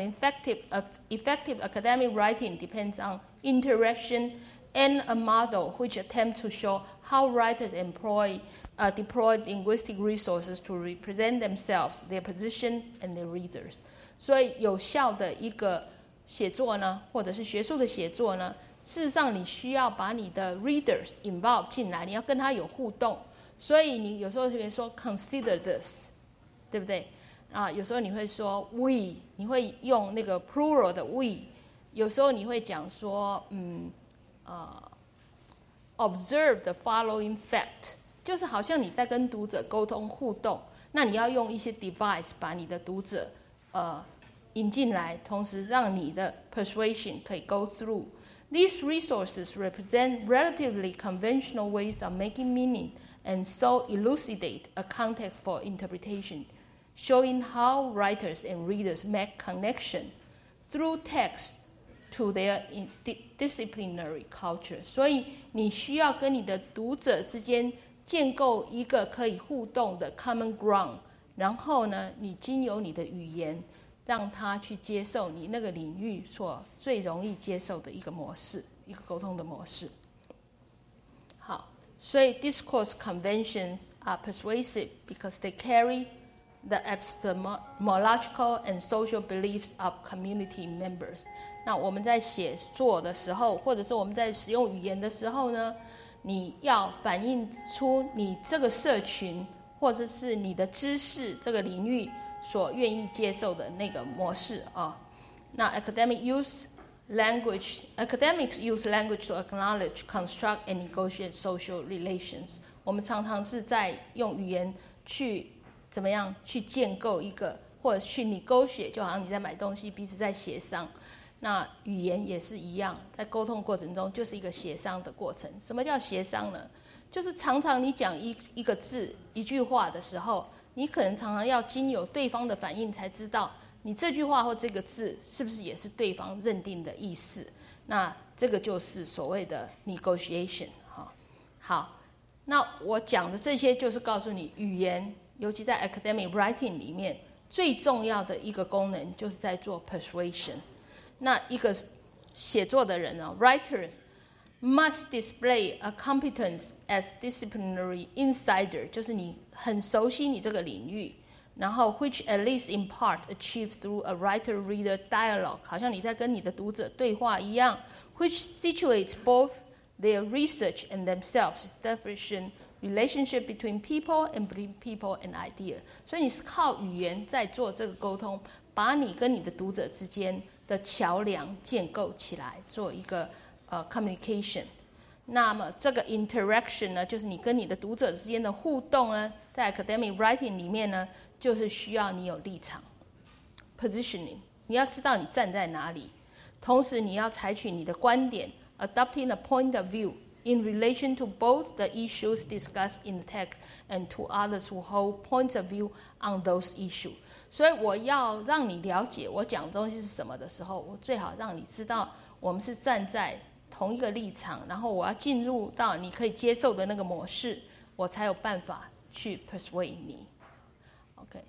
effective academic writing depends on interaction and a model which attempts to show how writers deploy linguistic resources to represent themselves, their position, and their readers. 所以有效的一个写作呢，或者是学术的写作呢，事实上你需要把你的 readers involve 进来，你要跟他有互动。所以你有时候会说 consider this， 对不对？有时候你会说 we， 你会用那个 plural 的 we。有时候你会讲说，observe the following fact， 就是好像你在跟读者沟通互动，那你要用一些 device 把你的读者引进来，同时让你的 persuasion 可以 go through. These resources represent relatively conventional ways of making meaning and so elucidate a context for interpretation, showing how writers and readers make connection through text to their disciplinary culture. 所以你需要跟你的读者之间建构一个可以互动的 common ground， 然后呢，你经由你的语言让他去接受你那个领域所最容易接受的一个模式，一个沟通的模式。好，所以 discourse conventions are persuasive because they carry the epistemological and social beliefs of community members. 那我们在写作的时候，或者是我们在使用语言的时候呢，你要反映出你这个社群或者是你的知识这个领域所愿意接受的那个模式啊。那 academics use language to acknowledge, construct, and negotiate social relations. 我们常常是在用语言去怎么样去建构一个，或者去negotiate，就好像你在买东西，彼此在协商。那语言也是一样，在沟通过程中就是一个协商的过程。什么叫协商呢？就是常常你讲一个字一句话的时候，你可能常常要经由对方的反应才知道你这句话或这个字是不是也是对方认定的意思。那这个就是所谓的 negotiation。 好，那我讲的这些就是告诉你，语言尤其在 academic writing 里面最重要的一个功能就是在做 persuasion。 那一个写作的人呢 writers must display a competence as disciplinary insider， 就是你很熟悉你这个领域，然后 which at least in part achieves through a writer-reader dialogue， 好像你在跟你的读者对话一样 which situates both their research and themselves, establishing relationship between people and between people and idea。 所以你是靠语言在做这个沟通，把你跟你的读者之间的桥梁建构起来，做一个communication。 那么这个 interaction 呢，就是你跟你的读者之间的互动呢，在 academic writing 里面呢，就是需要你有立场 positioning， 你要知道你站在哪里，同时你要采取你的观点 adopting a point of view in relation to both the issues discussed in the text and to others who hold points of view on those issues。 所以我要让你了解我讲的东西是什么的时候，我最好让你知道我们是站在同一个立场，然后我要进入到你可以接受的那个模式，我才有办法去 persuade 你。 OK，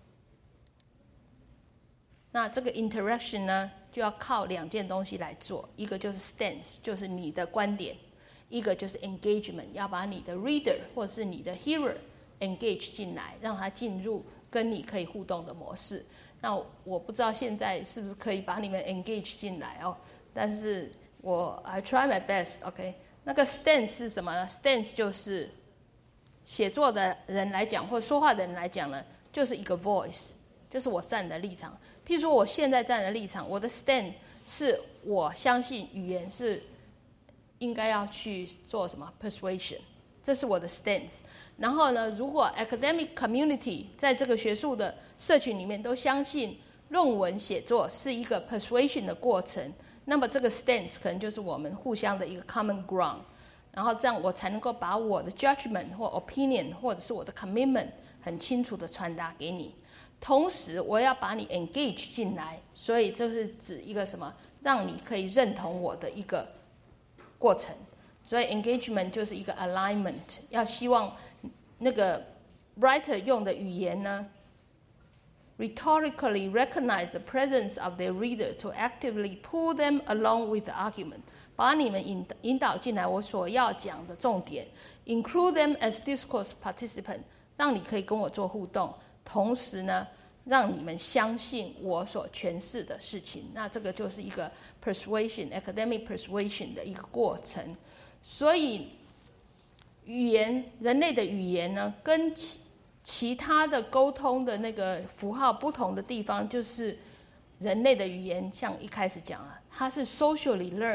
那这个 interaction 呢，就要靠两件东西来做，一个就是 stance， 就是你的观点，一个就是 engagement， 要把你的 reader 或者是你的 hearer engage 进来，让他进入跟你可以互动的模式。那我不知道现在是不是可以把你们 engage 进来哦，但是I try my best。 OK， 那个 stance 是什么呢？ stance 就是写作的人来讲，或者说话的人来讲呢，就是一个 voice， 就是我站的立场。譬如说我现在站的立场，我的 stand 是我相信语言是应该要去做什么 persuasion， 这是我的 stance。 然后呢，如果 academic community 在这个学术的社群里面都相信论文写作是一个 persuasion 的过程，那么这个 stance 可能就是我们互相的一个 common ground， 然后这样我才能够把我的 judgment 或 opinion 或者是我的 commitment 很清楚的传达给你，同时我要把你 engage 进来，所以这是指一个什么，让你可以认同我的一个过程。所以 engagement 就是一个 alignment， 要希望那个 writer 用的语言呢rhetorically recognize the presence of their readers to actively pull them along with the argument， 把你们引导进来我所要讲的重点 include them as discourse participant， 让你可以跟我做互动，同时呢让你们相信我所诠释的事情。那这个就是一个 persuasion academic persuasion 的一个过程。所以语言，人类的语言呢，跟其他的沟通的那个符号不同的地方，就是人类的语言像一开始讲了，它是 socially learned，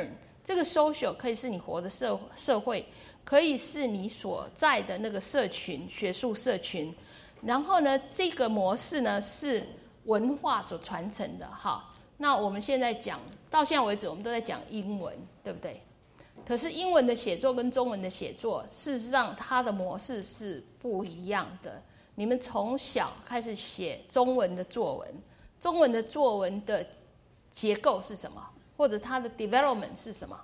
这个 social 可以是你活的社会，可以是你所在的那个社群，学术社群。然后呢，这个模式呢是文化所传承的。好，那我们现在讲到现在为止，我们都在讲英文，对不对？可是英文的写作跟中文的写作，事实上它的模式是不一样的。你们从小开始写中文的作文，中文的作文的结构是什么？或者它的 development 是什么？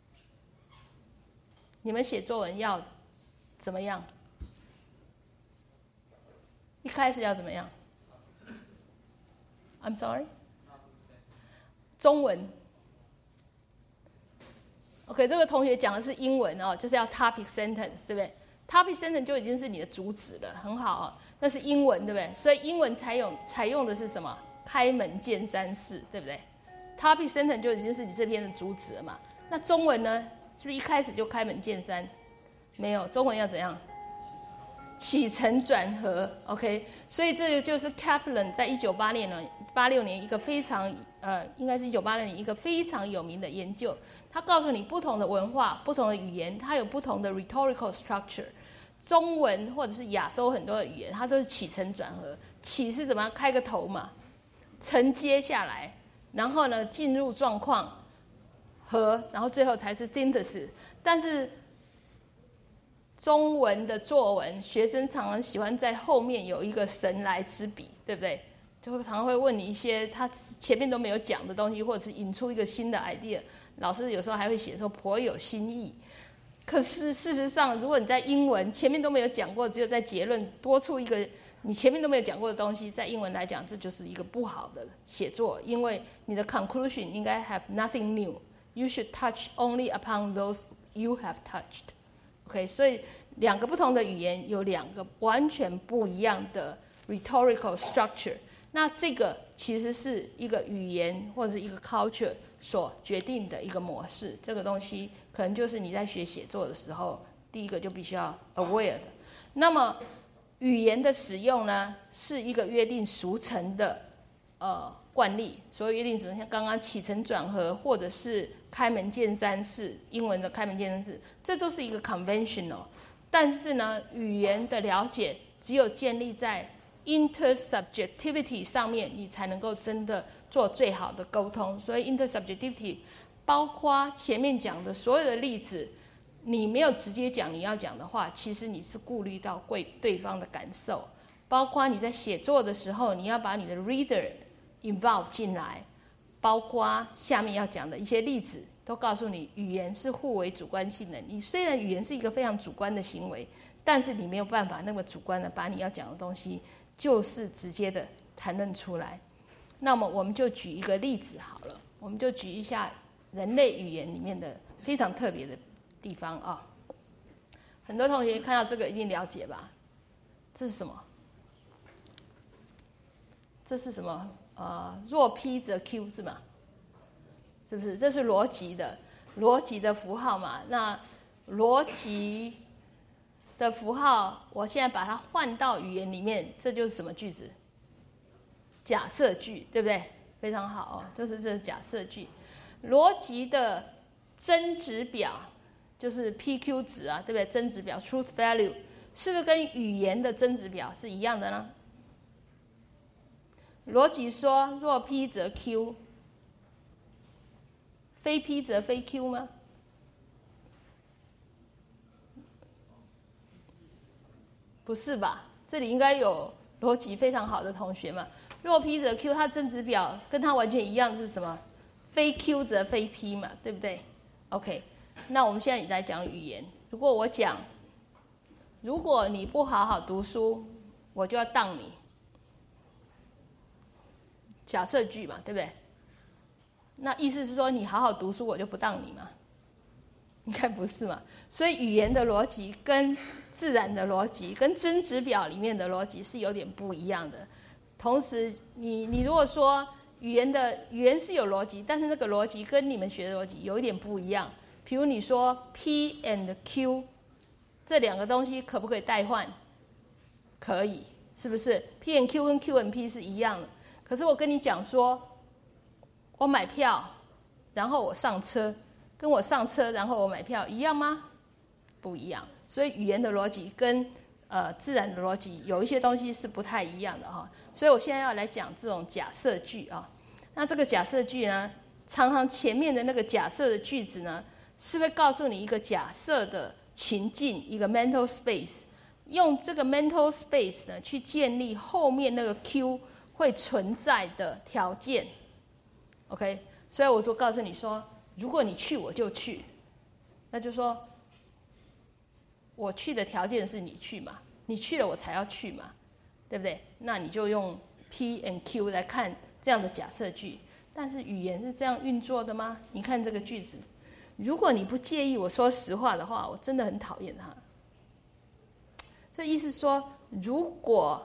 你们写作文要怎么样？一开始要怎么样 ？I'm sorry， 中文。OK， 这个同学讲的是英文哦，就是要 topic sentence， 对不对 ？topic sentence 就已经是你的主旨了，很好哦。那是英文，对不对？所以英文采用的是什么？开门见山式，对不对 ？topic sentence 就已经是你这篇的主旨了嘛。那中文呢？是不是一开始就开门见山？没有，中文要怎样？起承转合 ，OK。所以这个就是 Kaplan 在1986年一个非常应该是1986年一个非常有名的研究。他告诉你，不同的文化、不同的语言，它有不同的 rhetorical structure。中文或者是亚洲很多的语言，它都是起承转合。起是怎么样？开个头嘛，承接下来，然后呢进入状况，和，然后最后才是 synthesis。但是中文的作文，学生常常喜欢在后面有一个神来之笔，对不对？就会常常会问你一些他前面都没有讲的东西，或者是引出一个新的 idea。老师有时候还会写说颇有新意。可是事实上，如果你在英文前面都没有讲过，只有在结论多出一个你前面都没有讲过的东西，在英文来讲，这就是一个不好的写作，因为你的 conclusion 应该 have nothing new. You should touch only upon those you have touched. OK， 所以两个不同的语言有两个完全不一样的 rhetorical structure。那这个其实是一个语言或者是一个 culture 所决定的一个模式。这个东西可能就是你在学写作的时候，第一个就必须要 aware 的。那么语言的使用呢，是一个约定俗成的惯例。所谓约定俗成，像刚刚起承转合，或者是开门见山式，英文的开门见山式，这都是一个 conventional。但是呢，语言的了解只有建立在 intersubjectivity 上面，你才能够真的做最好的沟通。所以 intersubjectivity 包括前面讲的所有的例子，你没有直接讲你要讲的话，其实你是顾虑到对方的感受。包括你在写作的时候，你要把你的 reader involve 进来，包括下面要讲的一些例子，都告诉你语言是互为主观性的。你虽然语言是一个非常主观的行为，但是你没有办法那么主观的把你要讲的东西就是直接的谈论出来。那么我们就举一个例子好了，我们就举一下人类语言里面的非常特别的地方啊。很多同学看到这个一定了解吧？这是什么？这是什么？若 P 则 Q 是吗？是不是？这是逻辑的符号嘛？那逻辑的符号，我现在把它换到语言里面，这就是什么句子？假设句，对不对？非常好哦，就是这假设句。逻辑的真值表就是 PQ 值啊，对不对？真值表 truth value 是不是跟语言的真值表是一样的呢？逻辑说若 P 则 Q， 非 P 则非 Q 吗？不是吧？这里应该有逻辑非常好的同学嘛。若 P 则 Q， 它真值表跟它完全一样是什么？非 Q 则非 P 嘛，对不对 ？OK， 那我们现在来讲语言。如果我讲，如果你不好好读书，我就要当你。假设句嘛，对不对？那意思是说，你好好读书，我就不当你嘛？应该不是嘛？所以语言的逻辑跟自然的逻辑，跟真值表里面的逻辑是有点不一样的。同时，你如果说语言是有逻辑，但是那个逻辑跟你们学的逻辑有一点不一样。比如你说 P and Q 这两个东西可不可以代换？可以，是不是 ？P and Q 跟 Q and P 是一样的。可是我跟你讲说，我买票，然后我上车， 跟我上车然后我买票一样吗？不一样。所以语言的逻辑跟自然的逻辑有一些东西是不太一样的哈。所以我现在要来讲这种假设句啊。那这个假设句呢，常常前面的那个假设的句子呢，是会告诉你一个假设的情境，一个 mental space， 用这个 mental space 呢去建立后面那个 Q 会存在的条件。OK， 所以我就告诉你说，如果你去我就去，那就说我去的条件是你去嘛，你去了我才要去嘛，对不对？那你就用 P and Q 来看这样的假设句。但是语言是这样运作的吗？你看这个句子，如果你不介意我说实话的话，我真的很讨厌他。这意思说，如果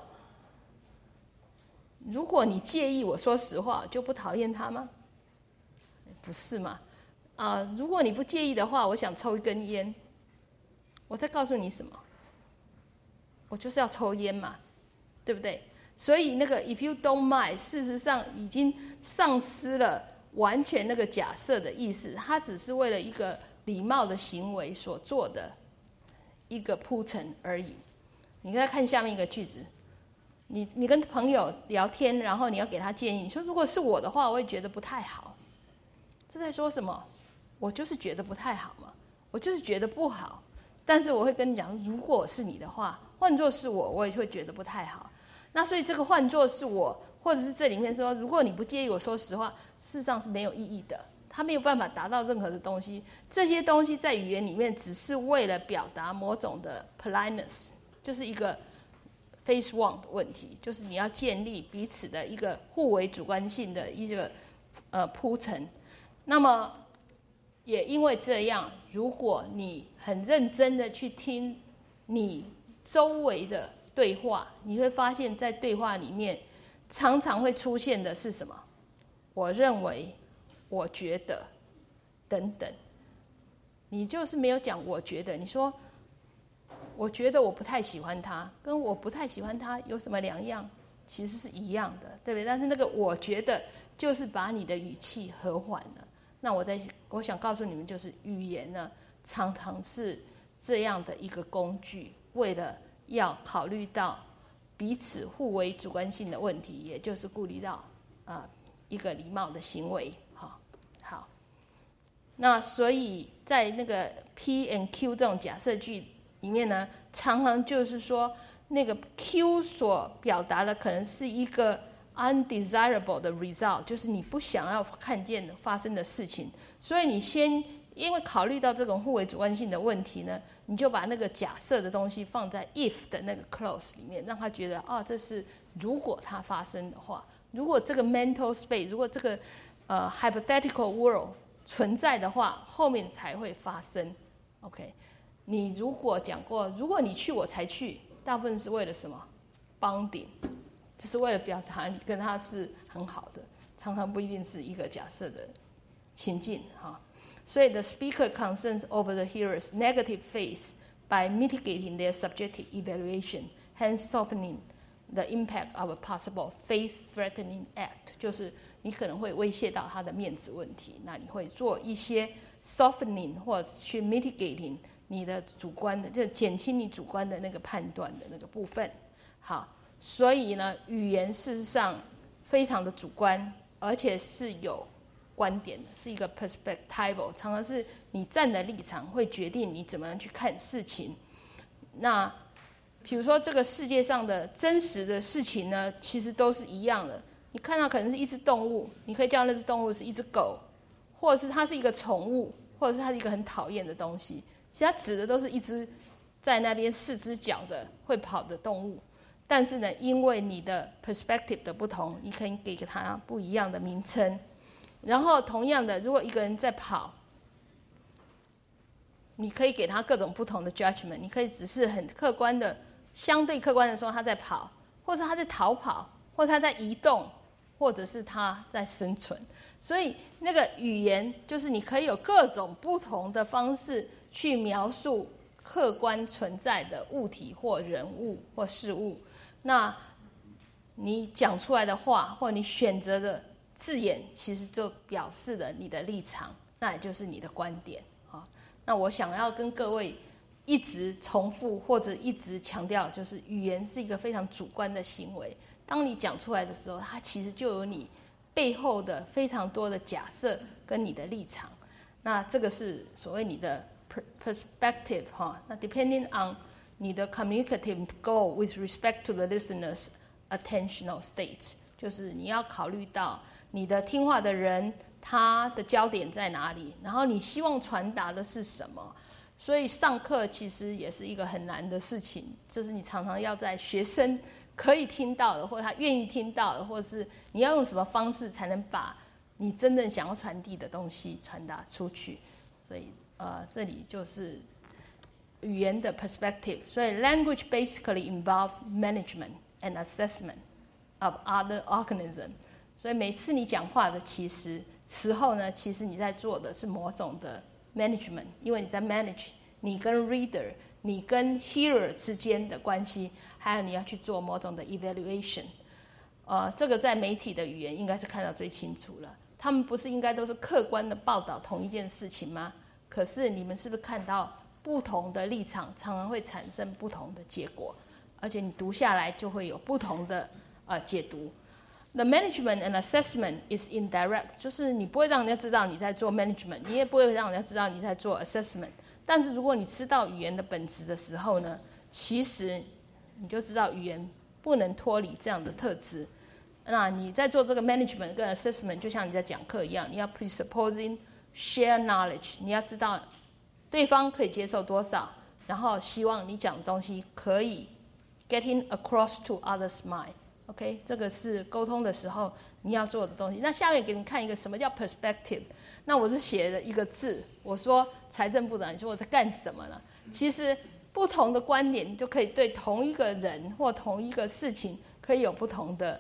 你介意我说实话，就不讨厌他吗？不是嘛？如果你不介意的话，我想抽一根烟，我在告诉你什么？我就是要抽烟嘛，对不对？所以那个 if you don't mind， 事实上已经丧失了完全那个假设的意思，它只是为了一个礼貌的行为所做的一个铺陈而已。你再看下面一个句子，你跟朋友聊天，然后你要给他建议，你说如果是我的话，我会觉得不太好。这在说什么？我就是觉得不太好嘛，我就是觉得不好。但是我会跟你讲，如果是你的话，换作是我也会觉得不太好。那所以这个换作是我，或者是这里面说，如果你不介意我说实话，事实上是没有意义的，它没有办法达到任何的东西。这些东西在语言里面只是为了表达某种的 politeness， 就是一个 face one 的问题，就是你要建立彼此的一个互为主观性的一个铺陈。那么也因为这样，如果你很认真的去听你周围的对话，你会发现在对话里面常常会出现的是什么？我认为，我觉得，等等。你就是没有讲我觉得，你说我觉得我不太喜欢他，跟我不太喜欢他有什么两样？其实是一样的，对不对？但是那个我觉得就是把你的语气和缓了。那我想告诉你们，就是语言呢，常常是这样的一个工具，为了要考虑到彼此互为主观性的问题，也就是顾虑到一个礼貌的行为。好，那所以在那个 P and Q 这种假设句里面呢，常常就是说那个 Q 所表达的可能是一个 undesirable 的 result， 就是你不想要看见发生的事情，所以你先因为考虑到这种互为主观性的问题呢，你就把那个假设的东西放在 if 的那个 clause 里面，让他觉得这是如果它发生的话，如果这个 mental space， 如果这个hypothetical world 存在的话，后面才会发生。OK， 你如果讲过，如果你去我才去，大部分是为了什么？ bonding， 就是为了表达你跟他是很好的，常常不一定是一个假设的情境哈。所以 the speaker concerns over the hearer's negative face by mitigating their subjective evaluation, hence softening the impact of a possible faith-threatening act， 就是你可能会威胁到他的面子问题，那你会做一些 softening 或者去 mitigating 你的主观的，就减轻你主观的那个判断的那个部分。好，所以呢，语言事实上非常的主观，而且是有观点的，是一个 perspectival， 常常是你站的立场会决定你怎么样去看事情。那比如说这个世界上的真实的事情呢，其实都是一样的。你看到可能是一只动物，你可以叫那只动物是一只狗，或者是它是一个宠物，或者是它是一个很讨厌的东西。其实它指的都是一只在那边4只脚的会跑的动物。但是呢，因为你的 perspective 的不同，你可以给它不一样的名称。然后同样的，如果一个人在跑，你可以给他各种不同的 judgment， 你可以只是很客观的、相对客观的说他在跑，或者他在逃跑，或者他在移动，或者是他在生存。所以那个语言就是你可以有各种不同的方式去描述客观存在的物体或人物或事物。那你讲出来的话，或你选择的字眼，其实就表示了你的立场， 那也就是你的观点啊。那我想要跟各位一直重复或者一直强调，就是语言是一个非常主观的行为。当你讲出来的时候，它其实就有你背后的非常多的假设跟你的立场。那这个是所谓你的 perspective 哈。那 depending on 你的 communicative goal with respect to the listener's attentional state， 就是你要考虑到你的听话的人他的焦点在哪里，然后你希望传达的是什么。所以上课其实也是一个很难的事情，就是你常常要在学生可以听到的，或者他愿意听到的，或者是你要用什么方式才能把你真正想要传递的东西传达出去。所以这里就是语言的 perspective。所以 language basically involve management and assessment of other organism。所以每次你讲话的时候呢，其实你在做的是某种的 management， 因为你在 manage 你跟 reader、你跟 hearer 之间的关系，还有你要去做某种的 evaluation。这个在媒体的语言应该是看到最清楚了。他们不是应该都是客观的报道同一件事情吗？可是你们是不是看到不同的立场常常会产生不同的结果，而且你读下来就会有不同的解读。The management and assessment is indirect， 就是你不会让人家知道你在做 management， 你也不会让人家知道你在做 assessment。但是如果你知道语言的本质的时候呢，其实你就知道语言不能脱离这样的特质。那你在做这个 management 跟 assessment， 就像你在讲课一样，你要 presupposing share knowledge， 你要知道对方可以接受多少，然后希望你讲的东西可以 getting across to others' mind。OK， 这个是沟通的时候你要做的东西。那下面给你看一个什么叫 perspective。那我就写了一个字，我说财政部长，你说我在干什么呢？其实不同的观点就可以对同一个人或同一个事情可以有不同的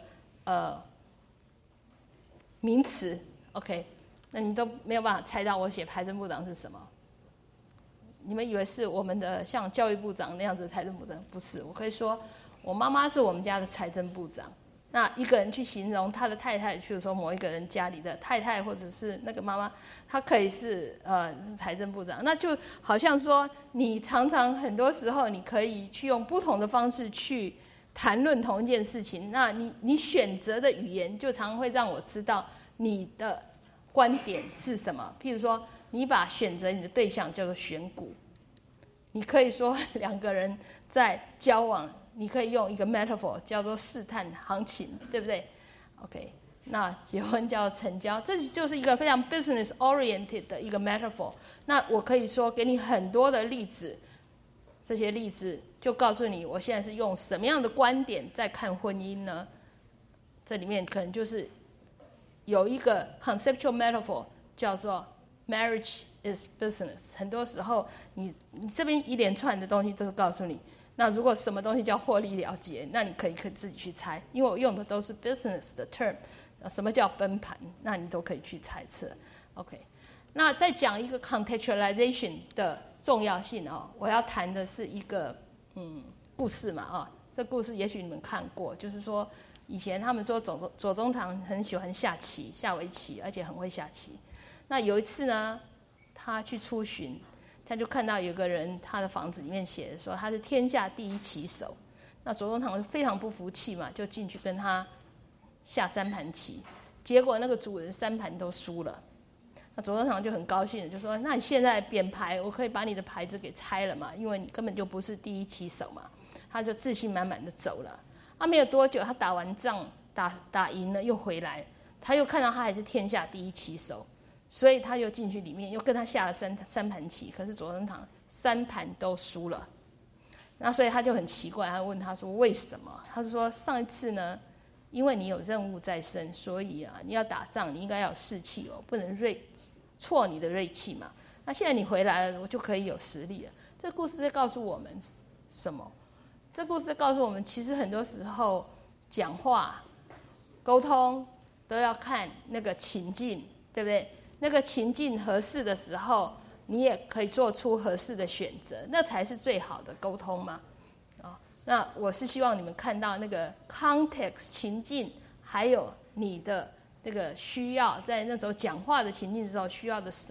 名词。OK， 那你都没有办法猜到我写财政部长是什么。你们以为是我们的像教育部长那样子的财政部长？不是，我可以说我妈妈是我们家的财政部长。那一个人去形容他的太太，譬如说某一个人家里的太太，或者是那个妈妈，她可以是财政部长。那就好像说，你常常很多时候你可以去用不同的方式去谈论同一件事情。那你选择的语言就常常会让我知道你的观点是什么。譬如说，你把选择你的对象叫做选股，你可以说两个人在交往，你可以用一个 metaphor 叫做试探行情，对不对 ？OK， 那结婚叫成交，这就是一个非常 business oriented 的一个 metaphor。那我可以说给你很多的例子，这些例子就告诉你我现在是用什么样的观点在看婚姻呢？这里面可能就是有一个 conceptual metaphor 叫做 marriage is business。很多时候你这边一连串的东西都是告诉你，那如果什么东西叫获利了结，那你可以自己去猜，因为我用的都是 business 的 term。什么叫崩盘，那你都可以去猜测。OK， 那再讲一个 contextualization 的重要性哦，我要谈的是一个故事嘛啊，这故事也许你们看过，就是说以前他们说左宗棠很喜欢下棋，下围棋，而且很会下棋。那有一次呢，他去出巡，他就看到有个人，他的房子里面写的说他是天下第一棋手。那左宗棠非常不服气嘛，就进去跟他下3盘棋，结果那个主人3盘都输了。那左宗棠就很高兴的就说：“那你现在扁牌，我可以把你的牌子给拆了嘛，因为你根本就不是第一棋手嘛。”他就自信满满的走了。没有多久，他打完仗打赢了又回来，他又看到他还是天下第一棋手。所以他又进去里面，又跟他下了三盘棋，可是左宗棠3盘都输了。那所以他就很奇怪，他问他说为什么？他就说上一次呢，因为你有任务在身，所以你要打仗，你应该要有士气哦，不能挫你的锐气嘛。那现在你回来了，我就可以有实力了。这故事在告诉我们什么？这故事在告诉我们，其实很多时候讲话、沟通都要看那个情境，对不对？那个情境合适的时候，你也可以做出合适的选择，那才是最好的沟通嘛。那我是希望你们看到那个 context 情境，还有你的那个需要，在那时候讲话的情境的时候需要的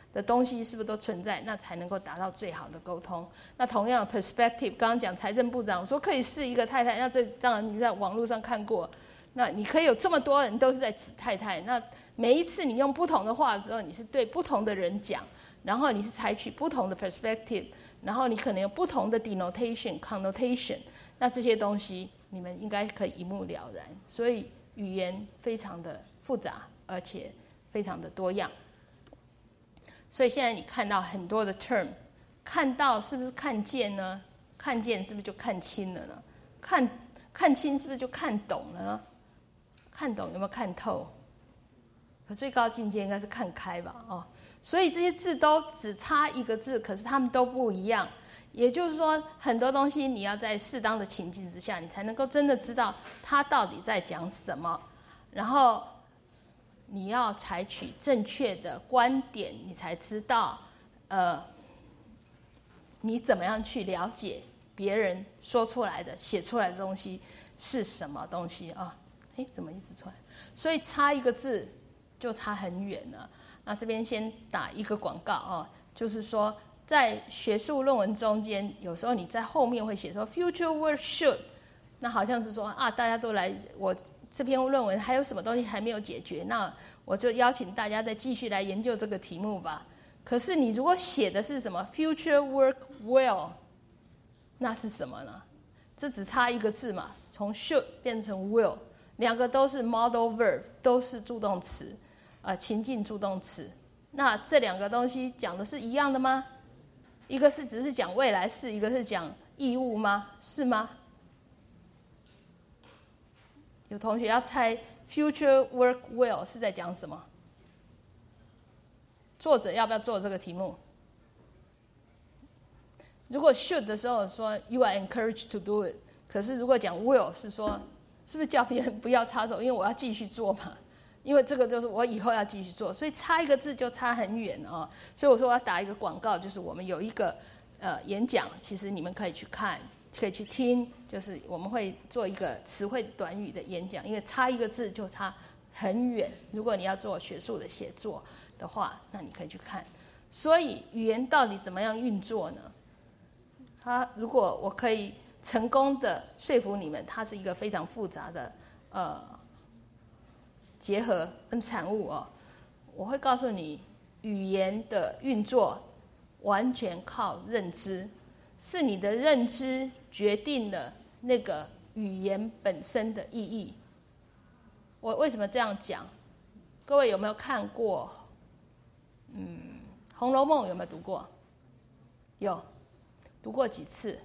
的东西是不是都存在，那才能够达到最好的沟通。那同样的 perspective， 刚刚讲财政部长说可以是一个太太，那这当然你在网络上看过，那你可以有这么多人都是在指太太，那每一次你用不同的话的时候，你是对不同的人讲，然后你是采取不同的 perspective， 然后你可能有不同的 denotation、connotation， 那这些东西你们应该可以一目了然。所以语言非常的复杂，而且非常的多样。所以现在你看到很多的 term， 看到是不是看见呢？看见是不是就看清了呢？看清是不是就看懂了呢？看懂有没有看透？可最高境界应该是看开吧，哦。所以这些字都只差一个字，可是它们都不一样。也就是说，很多东西你要在适当的情境之下，你才能够真的知道它到底在讲什么，然后你要采取正确的观点，你才知道，你怎么样去了解别人说出来的、写出来的东西是什么东西啊？怎么一直出来？所以差一个字就差很远了。那这边先打一个广告啊，就是说在学术论文中间，有时候你在后面会写说 future work should， 那好像是说啊，大家都来，我这篇论文还有什么东西还没有解决，那我就邀请大家再继续来研究这个题目吧。可是你如果写的是什么 future work well， 那是什么呢？这只差一个字嘛，从 should 变成 will， 两个都是 modal verb， 都是助动词，情境助动词。那这两个东西讲的是一样的吗？一个是只是讲未来式，一个是讲义务吗？是吗？有同学要猜 future work well 是在讲什么？作者要不要做这个题目？如果 should 的时候说 you are encouraged to do it， 可是如果讲 will 是说是不是叫别人不要插手，因为我要继续做嘛，因为这个就是我以后要继续做，所以差一个字就差很远哦。所以我说我要打一个广告，就是我们有一个演讲，其实你们可以去看，可以去听，就是我们会做一个词汇短语的演讲，因为差一个字就差很远。如果你要做学术的写作的话，那你可以去看。所以语言到底怎么样运作呢？如果我可以成功的说服你们，它是一个非常复杂的结合跟产物哦。我会告诉你，语言的运作完全靠认知，是你的认知决定了那个语言本身的意义。我为什么这样讲？各位有没有看过？《红楼梦》有没有读过？有，读过几次？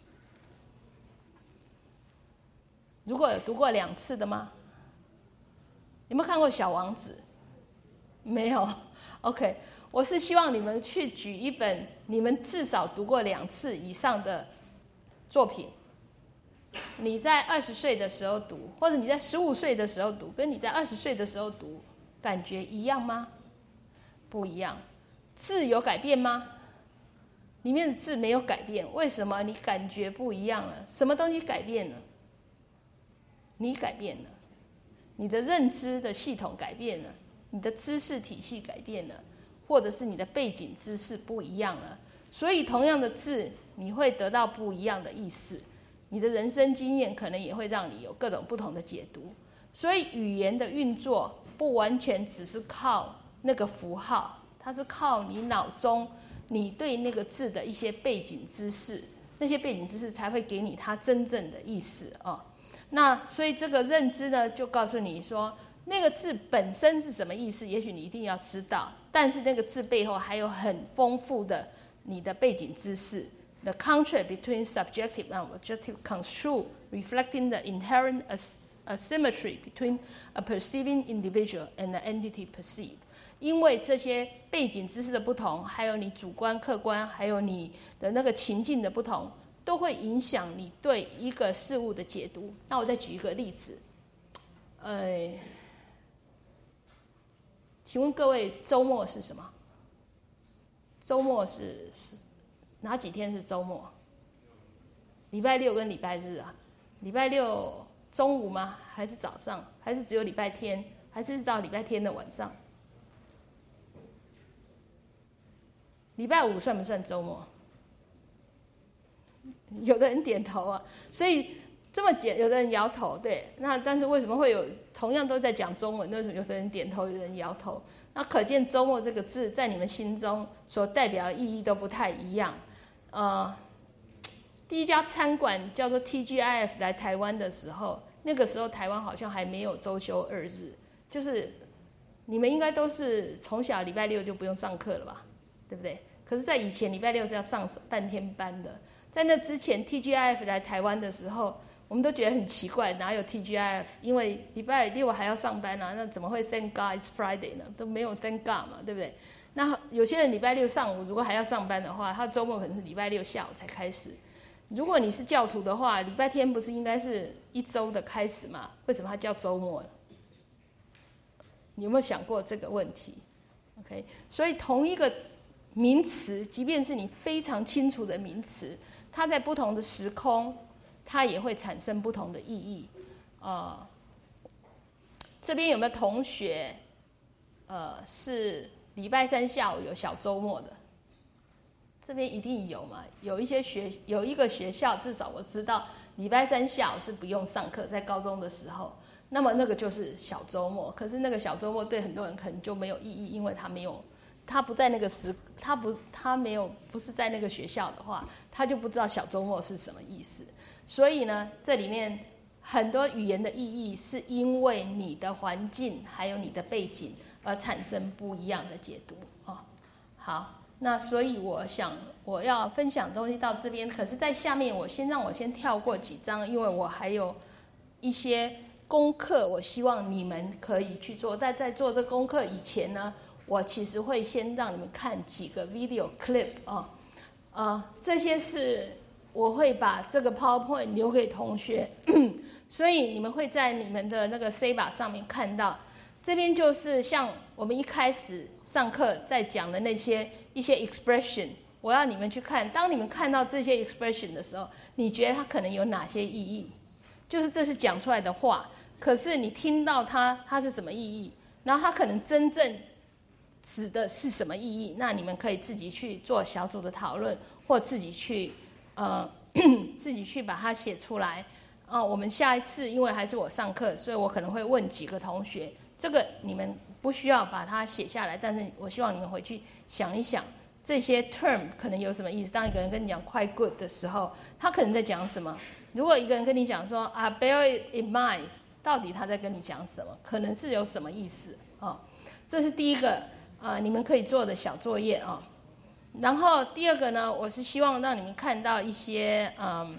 如果有读过2次的吗？有没有看过《小王子》？没有。OK， 我是希望你们去举一本你们至少读过2次以上的作品。你在20岁的时候读，或者你在15岁的时候读，跟你在20岁的时候读，感觉一样吗？不一样。字有改变吗？里面的字没有改变，为什么你感觉不一样了？什么东西改变了？你改变了，你的认知的系统改变了，你的知识体系改变了，或者是你的背景知识不一样了。所以同样的字，你会得到不一样的意思。你的人生经验可能也会让你有各种不同的解读。所以语言的运作不完全只是靠那个符号，它是靠你脑中你对那个字的一些背景知识，那些背景知识才会给你它真正的意思哦。那所以这个认知呢，就告诉你说那个字本身是什么意思，也许你一定要知道，但是那个字背后还有很丰富的你的背景知识。The contrast between subjective and objective construe, reflecting the inherent asymmetry between a perceiving individual and the entity perceived. 因为这些背景知识的不同，还有你主观、客观，还有你的那个情境的不同，都会影响你对一个事物的解读。那我再举一个例子，请问各位，周末是什么？周末是哪几天是周末？礼拜六跟礼拜日啊？礼拜六中午吗？还是早上？还是只有礼拜天？还是到礼拜天的晚上？ 礼拜五算不算周末？有的人点头啊，所以这么简，有的人摇头，对。那但是为什么会有同样都在讲中文，为什么有的人点头，有的人摇头？那可见周末这个字在你们心中所代表的意义都不太一样。第一家餐馆叫做 TGIF 来台湾的时候，那个时候台湾好像还没有周休2日，就是你们应该都是从小礼拜六就不用上课了吧，对不对？可是，在以前礼拜六是要上半天班的。在那之前 ，TGIF 来台湾的时候，我们都觉得很奇怪，哪有 TGIF？ 因为礼拜六还要s上班啊，那怎么会 Thank God it's Friday 呢？都没有 Thank God 嘛，对不对？那有些人礼拜六上午如果还要上班的话，他周末可能是礼拜六下午才开始。如果你是教徒的话，礼拜天不是应该是一周的开始吗？为什么它叫周末呢？你有没有想过这个问题 ？OK， 所以同一个名词，即便是你非常清楚的名词，它在不同的时空，它也会产生不同的意义。这边有没有同学，是礼拜三下午有小周末的？这边一定有嘛？有一个学校，至少我知道，礼拜三下午是不用上课，在高中的时候，那么那个就是小周末。可是那个小周末对很多人可能就没有意义，因为他不在那个不是在那个学校的话，他就不知道小周末是什么意思。所以呢，这里面很多语言的意义是因为你的环境还有你的背景而产生不一样的解读啊。好，那所以我想我要分享的东西到这边，可是在下面让我先跳过几章，因为我还有一些功课，我希望你们可以去做。但在做这功课以前呢，我其实会先让你们看几个 video clip 这些是我会把这个 PowerPoint 留给同学，所以你们会在你们的那个 Saber 上面看到。这边就是像我们一开始上课在讲的一些 expression， 我要你们去看。当你们看到这些 expression 的时候，你觉得它可能有哪些意义？就是这是讲出来的话，可是你听到它是什么意义？然后它可能真正指的是什么意义？那你们可以自己去做小组的讨论，或自己去自己去把它写出来。我们下一次因为还是我上课，所以我可能会问几个同学，这个你们不需要把它写下来，但是我希望你们回去想一想这些 term 可能有什么意思。当一个人跟你讲 quite good 的时候，他可能在讲什么？如果一个人跟你讲说bear it in mind， 到底他在跟你讲什么？可能是有什么意思这是第一个你们可以做的小作业然后第二个呢，我是希望让你们看到一些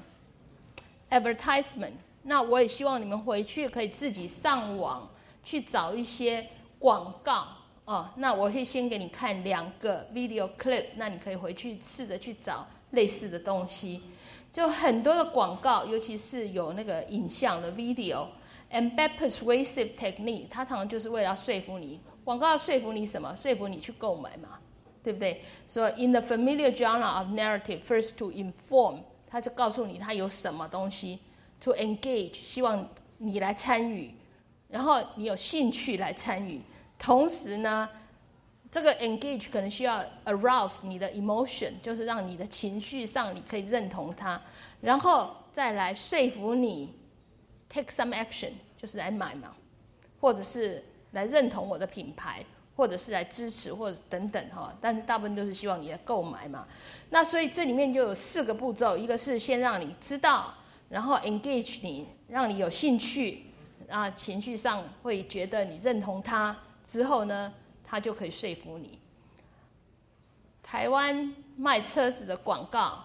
advertisement。那我也希望你们回去可以自己上网去找一些广告那我会先给你看2个 video clip， 那你可以回去试着去找类似的东西。就很多的广告，尤其是有那个影像的 video。Embed persuasive technique， 它常常就是为了要说服你。广告要说服你什么？说服你去购买嘛，对不对？所以 in the familiar genre of narrative, first to inform， 它就告诉你它有什么东西 ，to engage， 希望你来参与，然后你有兴趣来参与。同时呢，这个 engage 可能需要 arouse 你的 emotion， 就是让你的情绪上你可以认同它，然后再来说服你 take some action， 就是来买嘛，或者是来认同我的品牌，或者是来支持，或者等等但是大部分都是希望你来购买嘛。那所以这里面就有4个步骤，一个是先让你知道，然后 engage 你，让你有兴趣情绪上会觉得你认同它，之后呢，它就可以说服你。台湾卖车子的广告，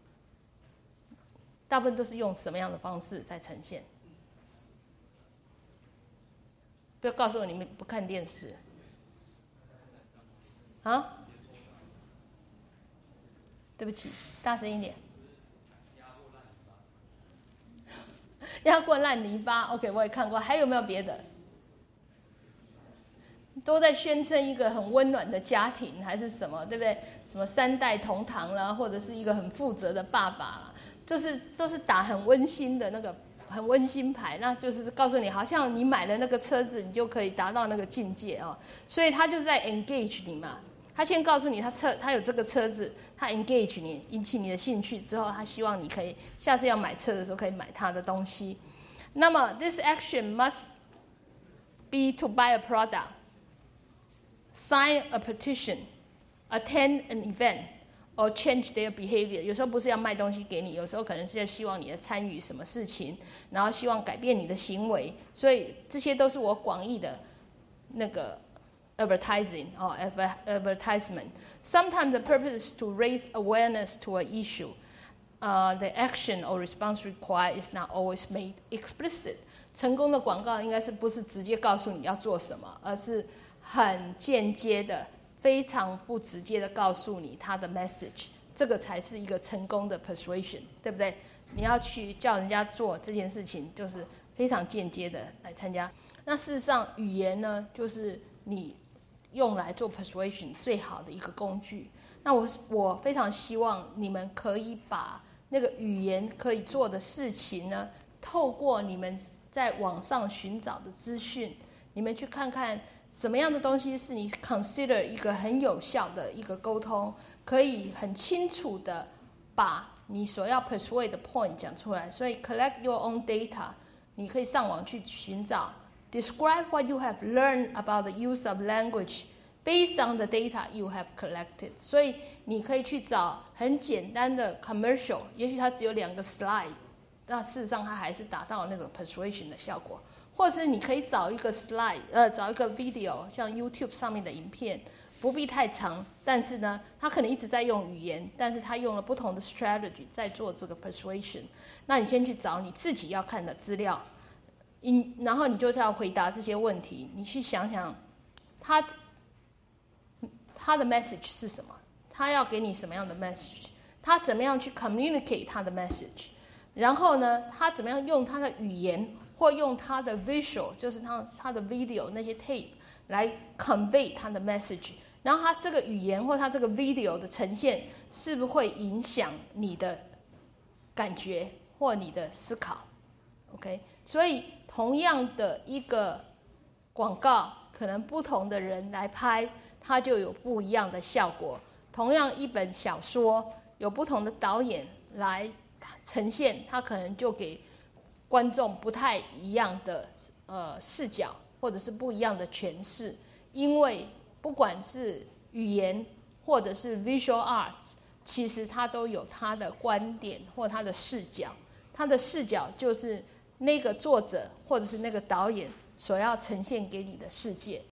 大部分都是用什么样的方式在呈现？不要告诉我你们不看电视对不起，大声一点。压过烂泥巴 ，OK， 我也看过。还有没有别的？都在宣称一个很温暖的家庭，还是什么，对不对？什么3代同堂啦，或者是一个很负责的爸爸啦，就是打很温馨的那个很温馨牌，那就是告诉你，好像你买了那个车子，你就可以达到那个境界所以他就在 engage 你嘛。 他先告诉你他有这个车子，他 engage 你，引起你的兴趣之后，他希望你可以下次要买车的时候可以买他的东西。那么 this action must be to buy a product, sign a petition, attend an event, or change their behavior. 有时候不是要卖东西给你，有时候可能是要希望你的参与什么事情，然后希望改变你的行为。所以这些都是我广义的那个 advertising or advertisement. Sometimes the purpose is to raise awareness to an issue. The action or response required is not always made explicit. 成功的广告应该是不是直接告诉你要做什么，而是很间接的、非常不直接的告诉你它的 message。这个才是一个成功的 persuasion， 对不对？你要去叫人家做这件事情，就是非常间接的来参加。那事实上，语言呢，就是你用来做 persuasion 最好的一个工具。那我非常希望你们可以把那个语言可以做的事情呢，透过你们在网上寻找的资讯，你们去看看什么样的东西是你 consider 一个很有效的一个沟通，可以很清楚的把你所要 persuade 的 point 讲出来。所以 collect your own data， 你可以上网去寻找 describe what you have learned about the use of language based on the data you have collected。 所以你可以去找很简单的 commercial， 也许它只有2个 slide， 那事实上它还是达到那种 persuasion 的效果。或者是你可以找一个 slide， 找一个 video， 像 YouTube 上面的影片，不必太长，但是呢，他可能一直在用语言，但是他用了不同的 strategy 在做这个 persuasion。那你先去找你自己要看的资料，然后你就是要回答这些问题。你去想想，他的 message 是什么？他要给你什么样的 message？ 他怎么样去 communicate 他的 message？ 然后呢，他怎么样用他的语言？或用他的 visual， 就是他的 video 那些 tape 来 convey 他的 message， 然后他这个语言或他这个 video 的呈现是不是会影响你的感觉或你的思考 ？OK， 所以同样的一个广告，可能不同的人来拍，它就有不一样的效果。同样一本小说，有不同的导演来呈现，它可能就给观众不太一样的视角，或者是不一样的诠释。因为不管是语言或者是 visual arts， 其实它都有它的观点或它的视角。它的视角就是那个作者或者是那个导演所要呈现给你的世界。